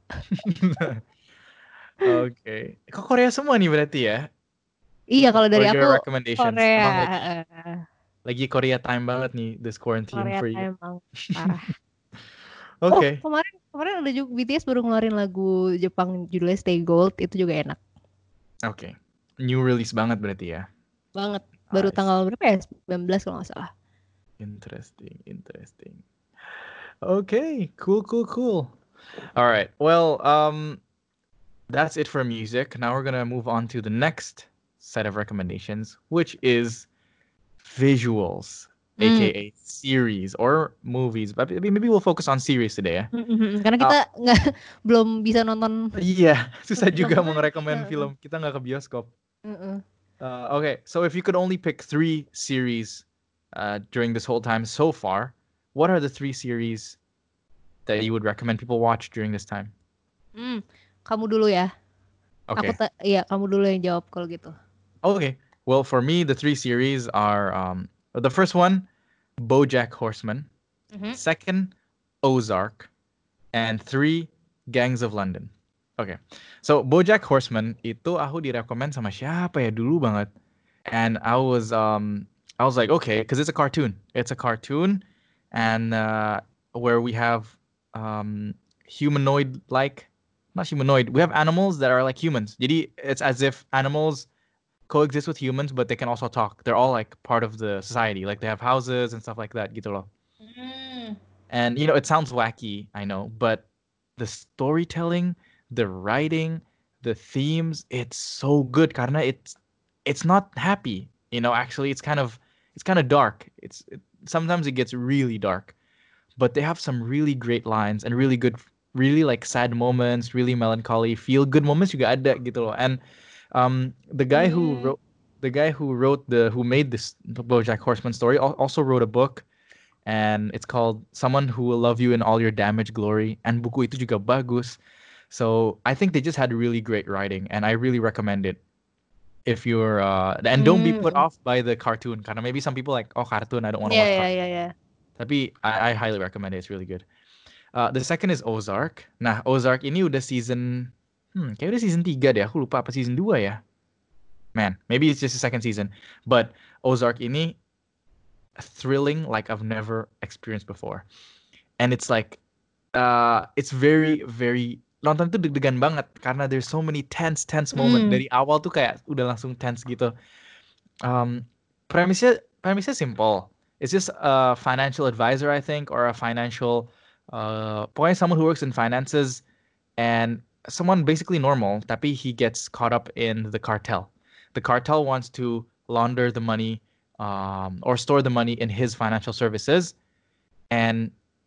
Oke. Kok Korea semua nih berarti ya? Iya kalau For dari your aku recommendations. Korea, Emang lagi eh, lagi Korea time banget nih this quarantine Korea for you. emang parah. Oke. Oh kemarin kemarin ada juga B T S baru ngeluarin lagu Jepang judulnya Stay Gold, itu juga enak Oke. New release banget berarti ya. banget. Baru I tanggal berapa ya? sembilan belas kalau nggak salah. Interesting, interesting. Okay, cool, cool, cool. All right. Well, um, that's it for music. Now we're gonna move on to the next set of recommendations, which is visuals, Hmm. aka series or movies. But maybe maybe we'll focus on series today. Ya. Mm-mm, karena kita nggak belum bisa nonton. Iya, susah Film juga lagi. mau ngerekomen Heeh. film. Kita nggak ke bioskop. Mm-mm. Uh, okay, so if you could only pick three series uh, during this whole time so far, what are the three series that you would recommend people watch during this time? Hmm, kamu dulu ya. Okay. Aku ta- iya kamu dulu yang jawab kalau gitu. Okay. Well, for me, the three series are um, the first one, BoJack Horseman. Mhm. Second, Ozark. And three, Gangs of London. Okay. So, BoJack Horseman itu aku direkomend sama siapa ya dulu banget. And I was um I was like, okay, because it's a cartoon. It's a cartoon and uh, where we have um humanoid like not humanoid. We have animals that are like humans. Jadi it's as if animals coexist with humans, but they can also talk. They're all like part of the society. Like they have houses and stuff like that gitu loh. Hmm. And you know, it sounds wacky, I know, but the storytelling, the writing, the themes, it's so good karena it's it's not happy. You know, actually it's kind of it's kind of dark. It's it, sometimes it gets really dark, but they have some really great lines and really good, really like sad moments, really melancholy, feel good moments juga ada gitu loh. And um, the guy who Hmm. wrote the guy who wrote the who made this BoJack Horseman story al- also wrote a book, and it's called Someone Who Will Love You in All Your Damaged Glory. And buku itu juga bagus. So I think they just had really great writing, and I really recommend it if you're uh and don't be put Hmm. off by the cartoon. Karena maybe some people like, oh, cartoon, I don't want to Ya, watch ya, cartoon. ya, ya. Tapi I, I highly recommend it. It's really good. Uh, the second is Ozark. Nah, Ozark ini udah season hmm, kayak udah season tiga deh. Aku lupa apa season dua ya. Man, maybe it's just the second season. But Ozark ini thrilling like I've never experienced before. And it's like uh it's very very nonton tuh deg-degan banget karena there's so many tense tense moment Hmm. dari awal tuh kayak udah langsung tense gitu. Um, premisnya premisnya simple. It's just a financial advisor, I think, or a financial uh pokoknya someone who works in finances, and someone basically normal, tapi he gets caught up in the cartel. The cartel wants to launder the money um, or store the money in his financial services, and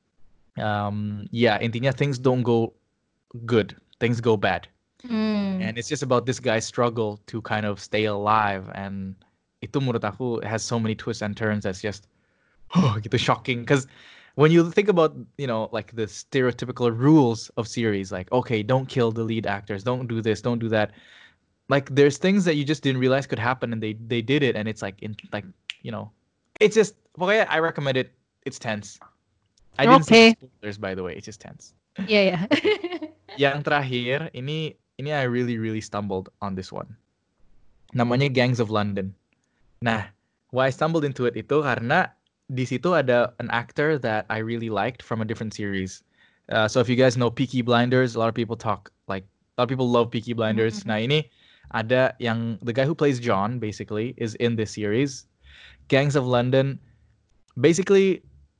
um, yeah, intinya things don't go good, things go bad, Hmm. and it's just about this guy's struggle to kind of stay alive. And itu menurut aku has so many twists and turns that's just oh, gitu shocking. Because when you think about, you know, like the stereotypical rules of series, like, okay, don't kill the lead actors, don't do this, don't do that. Like, there's things that you just didn't realize could happen, and they they did it, and it's like, in like, you know, it's just. Okay, I recommend it. It's tense. I didn't see any Oke. spoilers, by the way. It's just tense. Iya, ya. Okay. Yang terakhir, ini ini I really really stumbled on this one. Namanya Gangs of London. Nah, why I stumbled into it itu karena di situ ada an actor that I really liked from a different series. Uh, so if you guys know Peaky Blinders, a lot of people talk like a lot of people love Peaky Blinders. Nah, ini ada yang the guy who plays John basically is in this series. Gangs of London. Basically,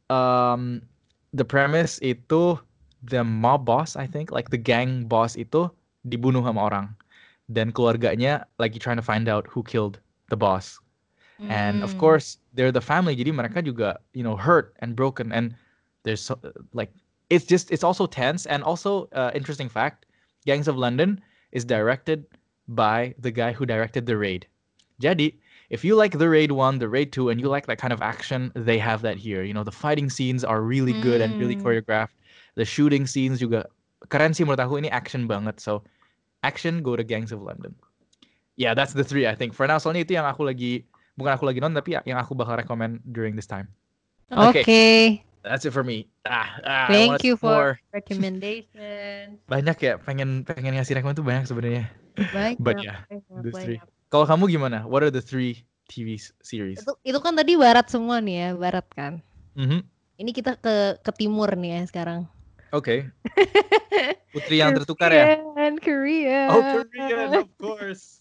um, the premise itu the mob boss, I think, like the gang boss itu dibunuh sama orang, dan keluarganya lagi trying to find out who killed the boss. And of Hmm. course, they're the family. Jadi mereka juga, you know, hurt and broken. And there's so, like, it's just, it's also tense. And also, uh, interesting fact, Gangs of London is directed by the guy who directed The Raid. Jadi, if you like The Raid one, The Raid two, and you like that kind of action, they have that here. You know, the fighting scenes are really good and really Hmm. choreographed. The shooting scenes juga keren sih menurut aku, ini action banget. So, action, go to Gangs of London. Yeah, that's the three I think. For now, soalnya itu yang aku lagi, bukan aku lagi nonton, tapi yang aku bakal recommend during this time. Okay, Oke. that's it for me. Ah, ah I Thank wanted you for more. recommendation. Banyak ya, pengen pengen ngasih rekomend tuh banyak sebenarnya. But Banyak, yeah, banyak, those three. banyak. Kalau kamu gimana? What are the three T V s- series? Itu itu kan tadi barat semua nih ya, barat kan. Mhm. Ini kita ke ke timur nih ya sekarang. Oke. Putri yang tertukar ya? Korean, Korea. Oh, Korean, of course.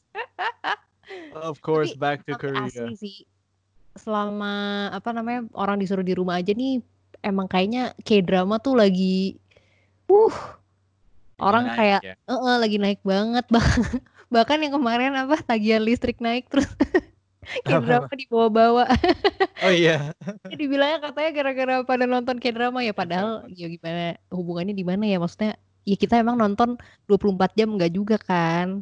Of course, Tapi back to tapi asli Korea. sih, selama apa namanya orang disuruh di rumah aja nih, emang kayaknya K-drama tuh lagi, uh, Lagi orang naik kayak, ya. eh lagi naik banget. Bah- Bahkan yang kemarin apa tagihan listrik naik terus K-drama dibawa-bawa. Oh iya. Ya dibilangnya katanya gara-gara pada nonton K-drama ya, padahal ya gimana hubungannya di mana ya, maksudnya ya kita emang nonton dua puluh empat jam enggak juga kan.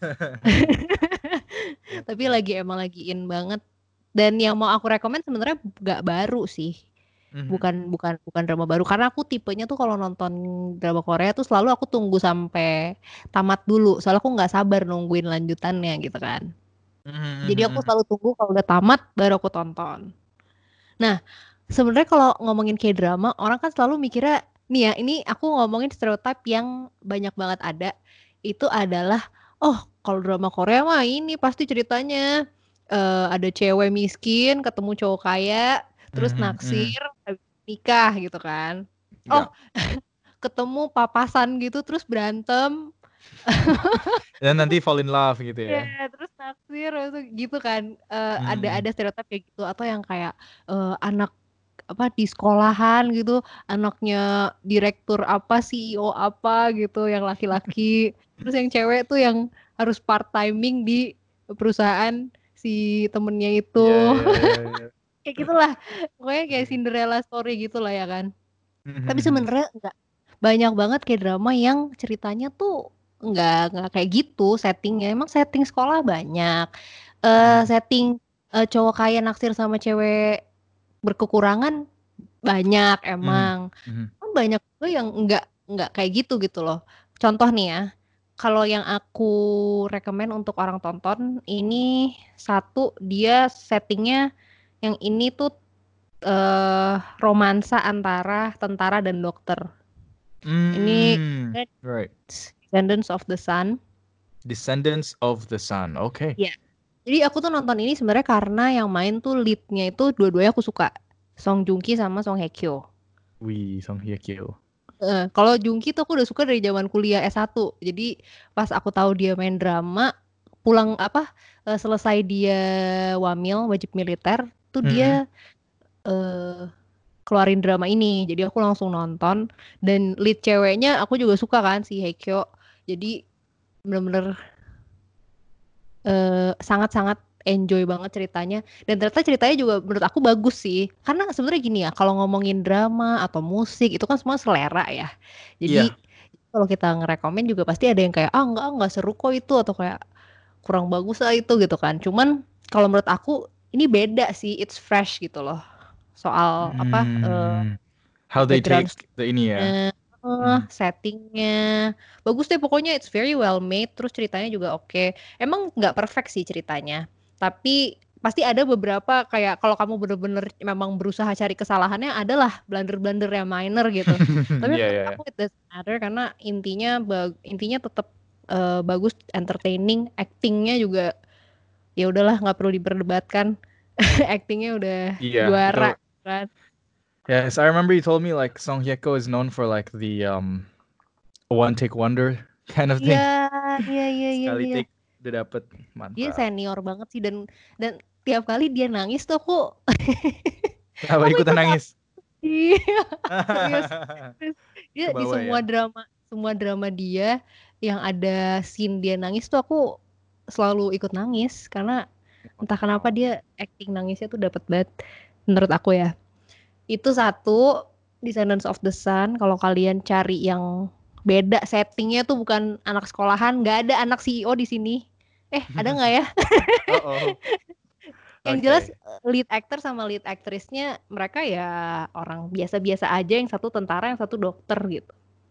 Tapi lagi emang lagi in banget, dan yang mau aku rekomen sebenarnya nggak baru sih. Mhm. Bukan bukan bukan drama baru, karena aku tipenya tuh kalau nonton drama Korea tuh selalu aku tunggu sampai tamat dulu. Soalnya aku nggak sabar nungguin lanjutannya gitu kan. Mhm, Jadi aku mhm, selalu tunggu kalau udah tamat baru aku tonton. Nah, sebenarnya kalau ngomongin K-drama, orang kan selalu mikirnya, nih ya, ini aku ngomongin stereotip yang banyak banget ada, itu adalah, oh kalau drama Korea mah ini pasti ceritanya eh, ada cewek miskin ketemu cowok kaya, terus mhm, mhm. naksir, habis nikah gitu kan. Oh, Enggak. ketemu papasan gitu terus berantem, Dan nanti fall in love gitu ya ya. terus naksir, terus gitu kan. Eh, ada Mhm. ada stereotip kayak gitu, atau yang kayak eh, anak apa di sekolahan gitu, anaknya direktur apa, C E O apa gitu yang laki-laki. Terus yang cewek tuh yang harus part timing di perusahaan si temennya itu. Iya, iya, iya, iya. Kayak gitulah. Pokoknya kayak Mhm. Cinderella story gitulah ya kan. Mhm, Tapi mhm. sebenarnya enggak banyak banget kayak drama yang ceritanya tuh enggak enggak kayak gitu settingnya. Emang setting sekolah banyak. Eh Mhm. setting eh, cowok kaya naksir sama cewek berkekurangan banyak Mhm. emang. Mhm. Kan banyak juga yang enggak enggak kayak gitu gitu loh. Contoh nih ya, kalau yang aku rekomen untuk orang tonton ini satu dia settingnya yang ini tuh eh romansa antara tentara dan dokter. Ini Mm, right. Descendants of the Sun. Descendants of the Sun. Okay. Iya. Jadi aku tuh nonton ini sebenarnya karena yang main tuh leadnya itu dua-duanya aku suka. Song Joong Ki sama Song Hye Kyo. Wih, Song Hye Kyo. Eh, kalau Joong Ki tuh aku udah suka dari zaman kuliah S satu. Jadi pas aku tahu dia main drama, pulang apa eh, selesai dia wamil wajib militer, tuh Mhm. dia eh, keluarin drama ini. Jadi aku langsung nonton dan lead ceweknya aku juga suka kan si Hye Kyo. Jadi bener-bener eh, sangat-sangat enjoy banget ceritanya dan ternyata ceritanya juga menurut aku bagus sih karena sebenarnya gini ya kalau ngomongin drama atau musik itu kan semua selera ya jadi Iya. kalau kita ngerekomen juga pasti ada yang kayak ah enggak enggak seru kok itu atau kayak kurang bagus lah itu gitu kan cuman kalau menurut aku ini beda sih it's fresh gitu loh soal apa eh, Hmm. How they background take the ini ya. story-nya, eh, Mhm. settingnya bagus deh pokoknya it's very well made terus ceritanya juga oke emang nggak perfect sih ceritanya tapi pasti ada beberapa kayak kalau kamu bener-bener memang berusaha cari kesalahannya adalah blunder-blunder yang minor gitu tapi Iya, menurut iya, iya. aku it doesn't matter karena intinya bag- intinya tetap eh, bagus entertaining actingnya juga ya udahlah nggak perlu diperdebatkan actingnya udah Iya, itu. juara kan. Yes, I remember you told me like Song Hye Kyo is known for like the um one take wonder kind of Iya, thing. iya, iya, iya, Sekali iya. take udah dapet. Dia Mantap. senior banget sih dan dan tiap kali dia nangis tuh aku Kenapa aku ikutan ikut nangis. nangis? Iya, serius. Serius. Dia Ke di bawah semua ya. drama semua drama dia yang ada scene dia nangis tuh aku selalu ikut nangis karena entah kenapa Wow. dia acting nangisnya tuh dapet banget menurut aku ya. Itu satu Descendants of the Sun kalau kalian cari yang beda settingnya tuh bukan anak sekolahan, nggak ada anak C E O di sini. Eh, ada nggak ya? Uh-oh. Yang jelas Okay. eh, lead actor sama lead aktrisnya mereka ya orang biasa-biasa aja, yang satu tentara, yang satu dokter gitu.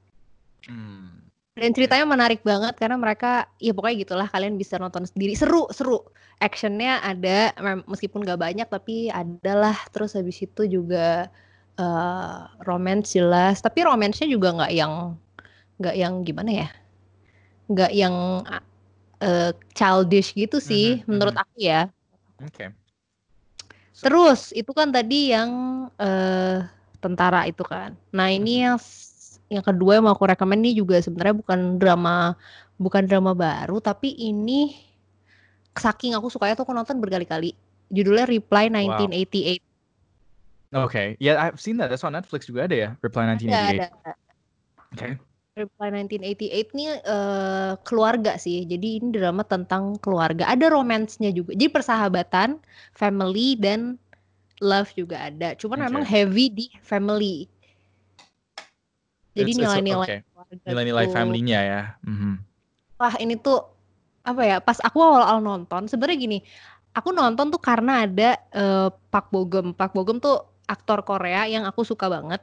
Hmm. Dan Okay. ceritanya menarik banget karena mereka, ya pokoknya gitulah kalian bisa nonton sendiri. Seru, seru. Actionnya ada, mem- meskipun nggak banyak tapi adalah. Terus habis itu juga eh romance jelas. Tapi romansnya juga nggak yang nggak yang gimana ya? Nggak yang eh, childish gitu sih, Mhm, menurut mhm. aku ya. Okay. So, Terus itu kan tadi yang eh, tentara itu kan. Nah ini mhm. yang s- yang kedua yang mau aku rekomen ini juga sebenarnya bukan drama bukan drama baru tapi ini saking aku sukanya tuh aku nonton berkali-kali. Judulnya Reply Wow. nineteen eighty-eight. Okay. Yeah, I've seen that. That's on Netflix juga ada ya. Reply Ada ada. nineteen eighty-eight. Okay. Reply nineteen eighty-eight nih eh, keluarga sih. Jadi ini drama tentang keluarga. Ada romansnya juga. Jadi persahabatan, family dan love juga ada. Cuman memang Okay. heavy di family. Jadi It's it's nilai-nilai okay. keluarga Nilai-nilai gitu. family-nya ya. Mhm. Wah ini tuh apa ya? Pas aku awal-awal nonton, sebenarnya gini, aku nonton tuh karena ada eh, Park Bo Gum. Park Bo Gum tuh aktor Korea yang aku suka banget.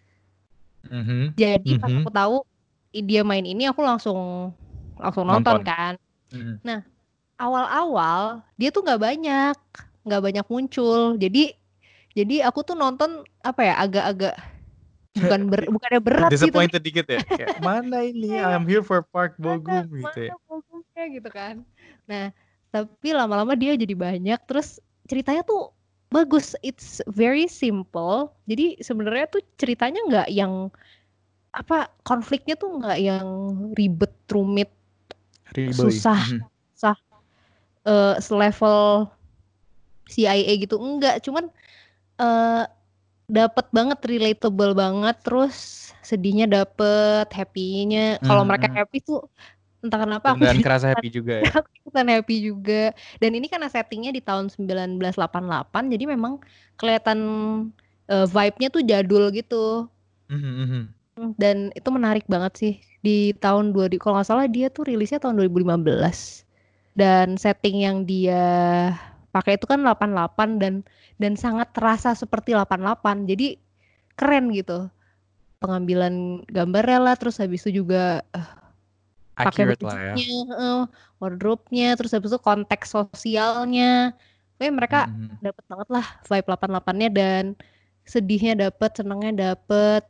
Mhm. Jadi pas aku Mhm. tahu i- dia main ini, aku langsung langsung nonton Nonton. kan. Mhm. Nah awal-awal dia tuh nggak banyak, nggak banyak muncul. Jadi jadi aku tuh nonton apa ya? Agak-agak bukan ber, Di- bukannya berat sih, tapi Disappointed dikit ya. Kayak mana ini? iya, I'm here for Park mana Bogum gitu mana ya. fokusnya gitu kan. Nah, tapi lama-lama dia jadi banyak terus ceritanya tuh bagus. It's very simple. Jadi sebenarnya tuh ceritanya nggak yang apa konfliknya tuh nggak yang ribet, rumit, Riboy. susah, Mhm. susah eh, selevel C I A gitu. Enggak, cuman eh, dapet banget, relatable banget, terus sedihnya dapet, happy-nya. Kalau mereka Hmm, happy tuh entah kenapa aku beneran jadi kerasa ikutan, happy juga ya. aku ikutan happy juga. Dan ini karena settingnya di tahun sembilan belas delapan puluh delapan, jadi memang kelihatan eh, vibe-nya tuh jadul gitu. Mhm, mhm. Hmm, Dan itu menarik banget sih. Di tahun dua ribu, kalau nggak salah dia tuh rilisnya tahun dua ribu lima belas. Dan setting yang dia pakai itu kan delapan puluh delapan dan dan sangat terasa seperti delapan puluh delapan. Jadi keren gitu. Pengambilan gambarnya lah, terus habis itu juga eh, pakai Accurate lah ya. bajunya, eh, wardrobe-nya, terus habis itu konteks sosialnya. Kayak mereka Mhm, mhm. dapet banget lah vibe delapan puluh delapan-nya dan sedihnya dapet, senengnya dapet.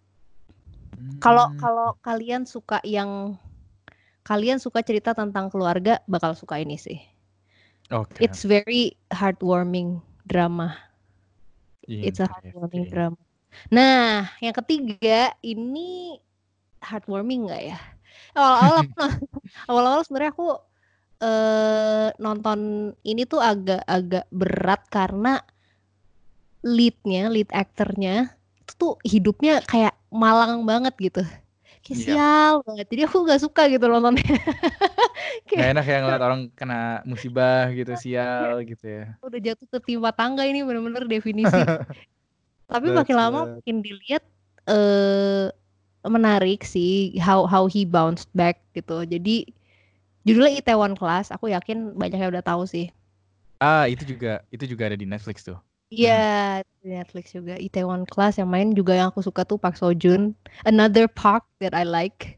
Kalau Hmm, kalau kalian suka yang kalian suka cerita tentang keluarga, bakal suka ini sih. oke. It's very heartwarming drama. It's a heartwarming Interesting. drama. Nah, yang ketiga ini heartwarming nggak ya? Awal-awal aku awal-awal sebenarnya aku eh, nonton ini tuh agak-agak berat karena leadnya, lead aktornya itu tuh hidupnya kayak malang banget gitu. Kayak Iya. sial banget. Jadi aku nggak suka gitu nontonnya. Nggak Kayak enak ya ngeliat orang kena musibah gitu, dia sial gitu ya. udah jatuh tertimpa tangga, ini bener-bener definisi. Tapi makin That's lama what. makin dilihat eh menarik sih how how he bounced back gitu. Jadi judulnya Itaewon Class, aku yakin banyak yang udah tahu sih. Ah, itu juga itu juga ada di Netflix tuh. Iya, Mhm. di Netflix juga. Itaewon Class yang main juga yang aku suka tuh Park Seo Joon. Another Park that I like.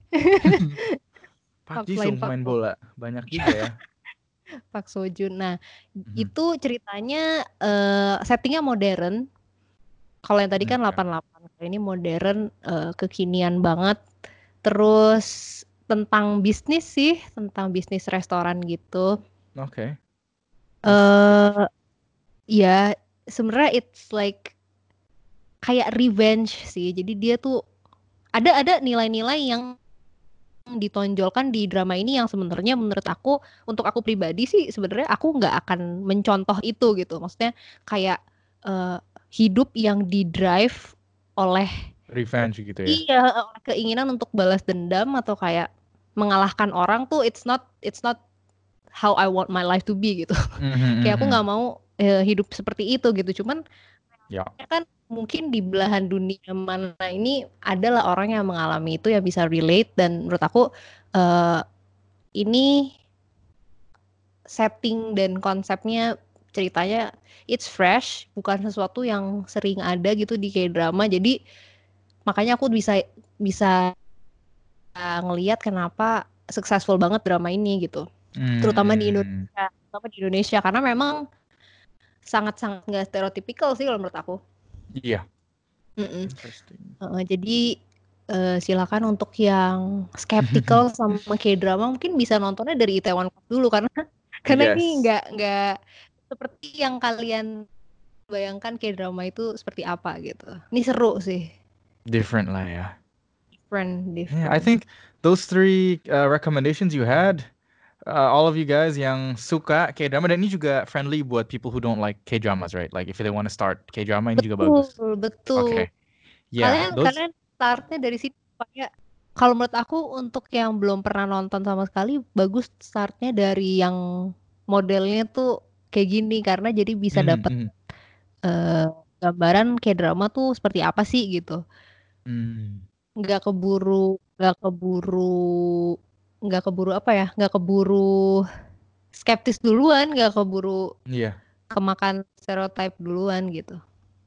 Park Park Ji selain Sung Park main Bo, bola, banyak juga ya. Park Seo Joon. Nah, Mhm. itu ceritanya eh, settingnya modern. Kalau yang tadi kan Oke. delapan puluh delapan, kalau ini modern, eh, kekinian banget. Terus tentang bisnis sih, tentang bisnis restoran gitu. Oke. That's Eh interesting. ya sebenarnya it's like kayak revenge sih. Jadi dia tuh ada ada nilai-nilai yang ditonjolkan di drama ini yang sebenarnya menurut aku, untuk aku pribadi sih sebenarnya aku nggak akan mencontoh itu gitu. Maksudnya kayak eh, hidup yang di drive oleh, Revenge gitu ya. iya, oleh keinginan untuk balas dendam atau kayak mengalahkan orang tuh, it's not it's not how I want my life to be gitu. Mhm, Kayak aku nggak mhm. mau eh, hidup seperti itu gitu. Cuman Ya. ya kan mungkin di belahan dunia mana ini adalah orang yang mengalami itu yang bisa relate, dan menurut aku eh, ini setting dan konsepnya, ceritanya it's fresh, bukan sesuatu yang sering ada gitu di K-drama. Jadi makanya aku bisa bisa ngelihat kenapa successful banget drama ini gitu. Terutama di Hmm. Indonesia, terutama di Indonesia karena memang sangat-sangat nggak stereotypical sih kalau menurut aku. Iya. Mm-mm. Interesting. Uh, jadi eh, silakan untuk yang skeptical sama K-drama mungkin bisa nontonnya dari Itaewon Class dulu, karena karena ini Yes. nggak nggak seperti yang kalian bayangkan K-drama itu seperti apa gitu. Ini seru sih, Different lah ya. different, Yeah, I different. think those three uh, recommendations you had, uh, all of you guys yang suka K-drama, dan ini juga friendly buat people who don't like K-dramas, right? Like if they want to start K-drama, ini juga Betul, bagus. betul. Okay. Yeah, Kalian those. kalian startnya dari situ supaya, kalau menurut aku untuk yang belum pernah nonton sama sekali, bagus startnya dari yang modelnya tuh kayak gini, karena jadi bisa Mhm, dapat mhm. eh, gambaran kayak drama tuh seperti apa sih gitu. Hmm. Nggak keburu, nggak keburu, nggak keburu apa ya, nggak keburu skeptis duluan, nggak keburu Yeah. kemakan stereotype duluan gitu.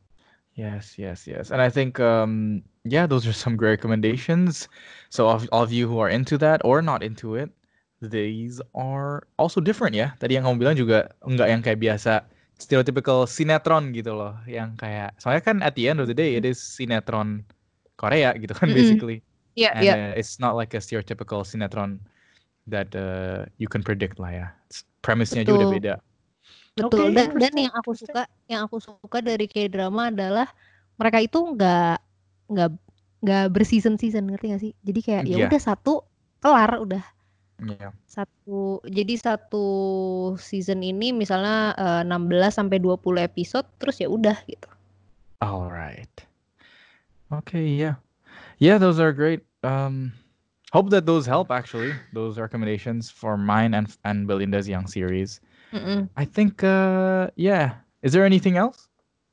Yes, yes, yes. And I think, um, yeah, those are some great recommendations. So all, all of you who are into that or not into it, these are also different ya. Tadi yang kamu bilang juga enggak yang kayak biasa stereotypical sinetron gitu loh. Yang kayak, soalnya kan at the end of the day, it is sinetron Korea gitu kan Mm-mm. basically. Iya, And iya, uh, it's not like a stereotypical sinetron that uh, you can predict lah ya. It's- Premise-nya aja udah betul. beda. Betul, Okay, dan dan interesting, yang aku interesting. suka, yang aku suka dari K-drama adalah mereka itu nggak nggak nggak berseason-season, ngerti gak sih? Jadi kayak ya Iya, udah satu kelar udah iya. satu. Jadi satu season ini misalnya eh, enam belas sampai dua puluh episode, terus ya udah gitu. All right. Okay, yeah. Yeah, those are great. Um, hope that those help actually. Those recommendations for mine and and Belinda's Young series. Mm-mm. I think uh yeah. Is there anything else?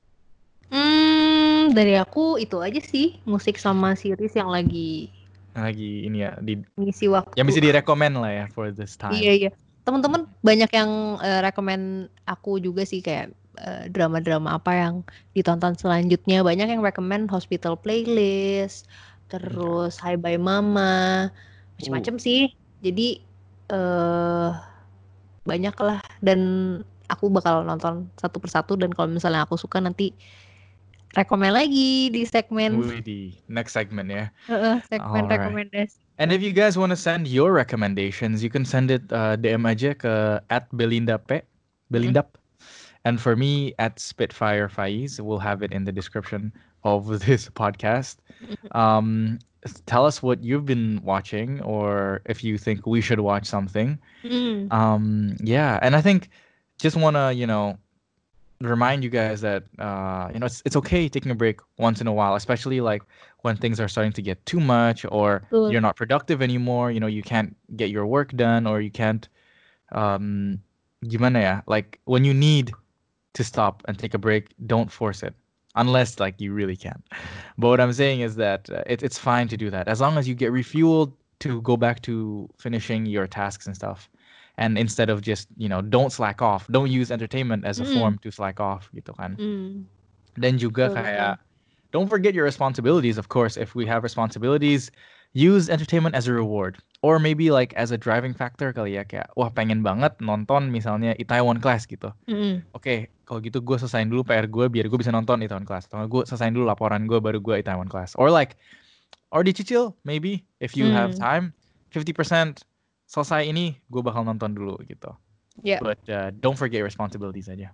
Hmm, dari aku itu aja sih, musik sama series yang lagi Lagi ini ya di ngisi yang waktu. bisa direkomend lah ya for this Iya, time. iya. Teman-teman banyak yang eh, rekomen aku juga sih kayak eh, drama-drama apa yang ditonton selanjutnya. Banyak yang rekomen Hospital Playlist, terus Hi Bye Mama, Ooh. macam-macam sih. Jadi eh banyak lah dan aku bakal nonton satu persatu dan kalau misalnya aku suka nanti rekomen lagi di segmen Widih. Next segment ya. eh, segmen All right. rekomendasi. And if you guys want to send your recommendations, you can send it uh, D M aja ke at Belinda P, Mm-mm. Belindap. And for me, at Spitfire Faiz, we'll have it in the description of this podcast. Um, tell us what you've been watching, or if you think we should watch something. Mm. Um, yeah, and I think just wanna you know remind you guys that uh, you know it's it's okay taking a break once in a while, especially like when things are starting to get too much, or Betul. you're not productive anymore. You know, you can't get your work done, or you can't um, gimana ya? Like when you need to stop and take a break, don't force it. Unless like you really can. But what I'm saying is that uh, it, it's fine to do that as long as you get refueled to go back to finishing your tasks and stuff. And instead of just, you know, don't slack off. Don't use entertainment as a Mm-mm. form to slack off gitu kan. Mm. Dan juga Betul, betul. kayak don't forget your responsibilities, of course. If we have responsibilities, use entertainment as a reward. Or maybe like as a driving factor kali ya. Kayak, wah pengen banget nonton misalnya Itaewon Class gitu. Mm-mm. Oke, kalau gitu gue selesain dulu P R gue biar gue bisa nonton Itaewon Class. Atau gue selesain dulu laporan gue baru gue Itaewon Class. Or like, or dicicil maybe if you have Mm. time. fifty percent selesai ini gue bakal nonton dulu gitu. Ya, But uh, don't forget your responsibilities aja.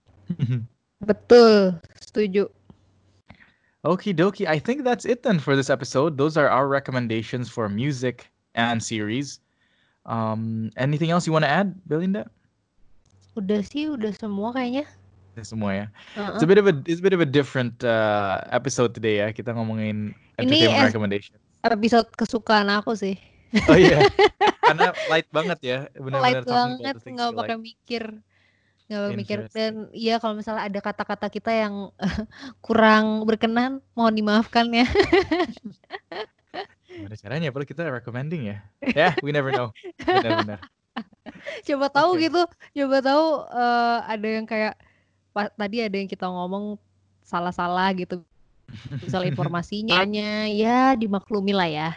betul. Setuju. Okie dokie. I think that's it then for this episode. Those are our recommendations for music and series. Um, anything else you want to add, Belinda? Udah sih, udah semua kayaknya. Itu semua ya. It's Uh-uh. a bit of a it's a bit of a different uh, episode today ya. Kita ngomongin Ini entertainment es- recommendations. episode kesukaan aku sih. Oh iya. Karena light banget ya. Light Benar-benar talking about banget, the things nggak you pakai like. mikir. Nggak pakai mikir. Interesting. Dan iya kalau misalnya ada kata-kata kita yang kurang berkenan, mohon dimaafkan ya. Gimana caranya? Padahal kita recommending ya. Ya, yeah, we never know. Benar-benar. Coba tahu Okay. gitu, coba tahu eh, ada yang kayak pa- tadi ada yang kita ngomong salah-salah gitu. Misal informasinya ya dimaklumi lah ya.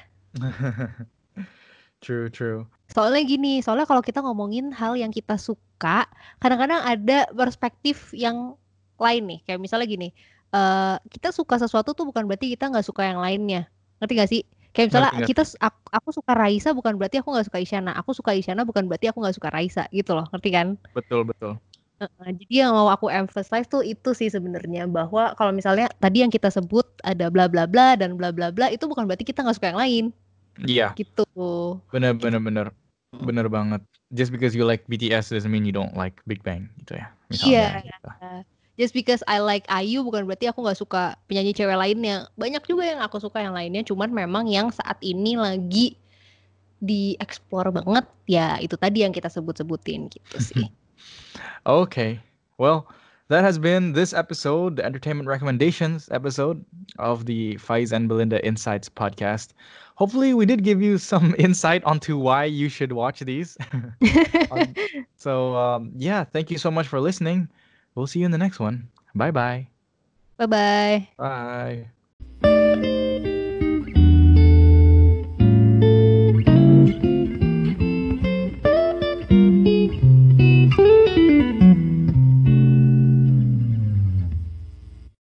True, true. Soalnya gini, soalnya kalau kita ngomongin hal yang kita suka, kadang-kadang ada perspektif yang lain nih. Kayak misalnya gini, eh kita suka sesuatu tuh bukan berarti kita nggak suka yang lainnya. Ngerti gak sih? Kayak misalnya Ngerti, kita ngerti. aku, aku suka Raisa bukan berarti aku nggak suka Isyana. Aku suka Isyana bukan berarti aku nggak suka Raisa gitu loh. Ngerti kan? Betul, betul. Heeh, jadi yang mau aku emphasize tuh itu sih sebenarnya bahwa kalau misalnya tadi yang kita sebut ada bla bla bla dan bla bla bla itu bukan berarti kita nggak suka yang lain Iya. gitu. Bener, bener, bener. Bener banget. Just because you like B T S doesn't mean you don't like Big Bang gitu ya. Misalnya. Iya. Gitu. Just because I like I U bukan berarti aku nggak suka penyanyi cewek lainnya. Banyak juga yang aku suka yang lainnya, cuman memang yang saat ini lagi dieksplor banget ya itu tadi yang kita sebut-sebutin gitu sih. Okay. Well, that has been this episode, the entertainment recommendations episode of the Faiz and Belinda Insights podcast. Hopefully, we did give you some insight onto why you should watch these. Um, so, um, yeah, thank you so much for listening. We'll see you in the next one. Bye-bye. Bye bye. Bye.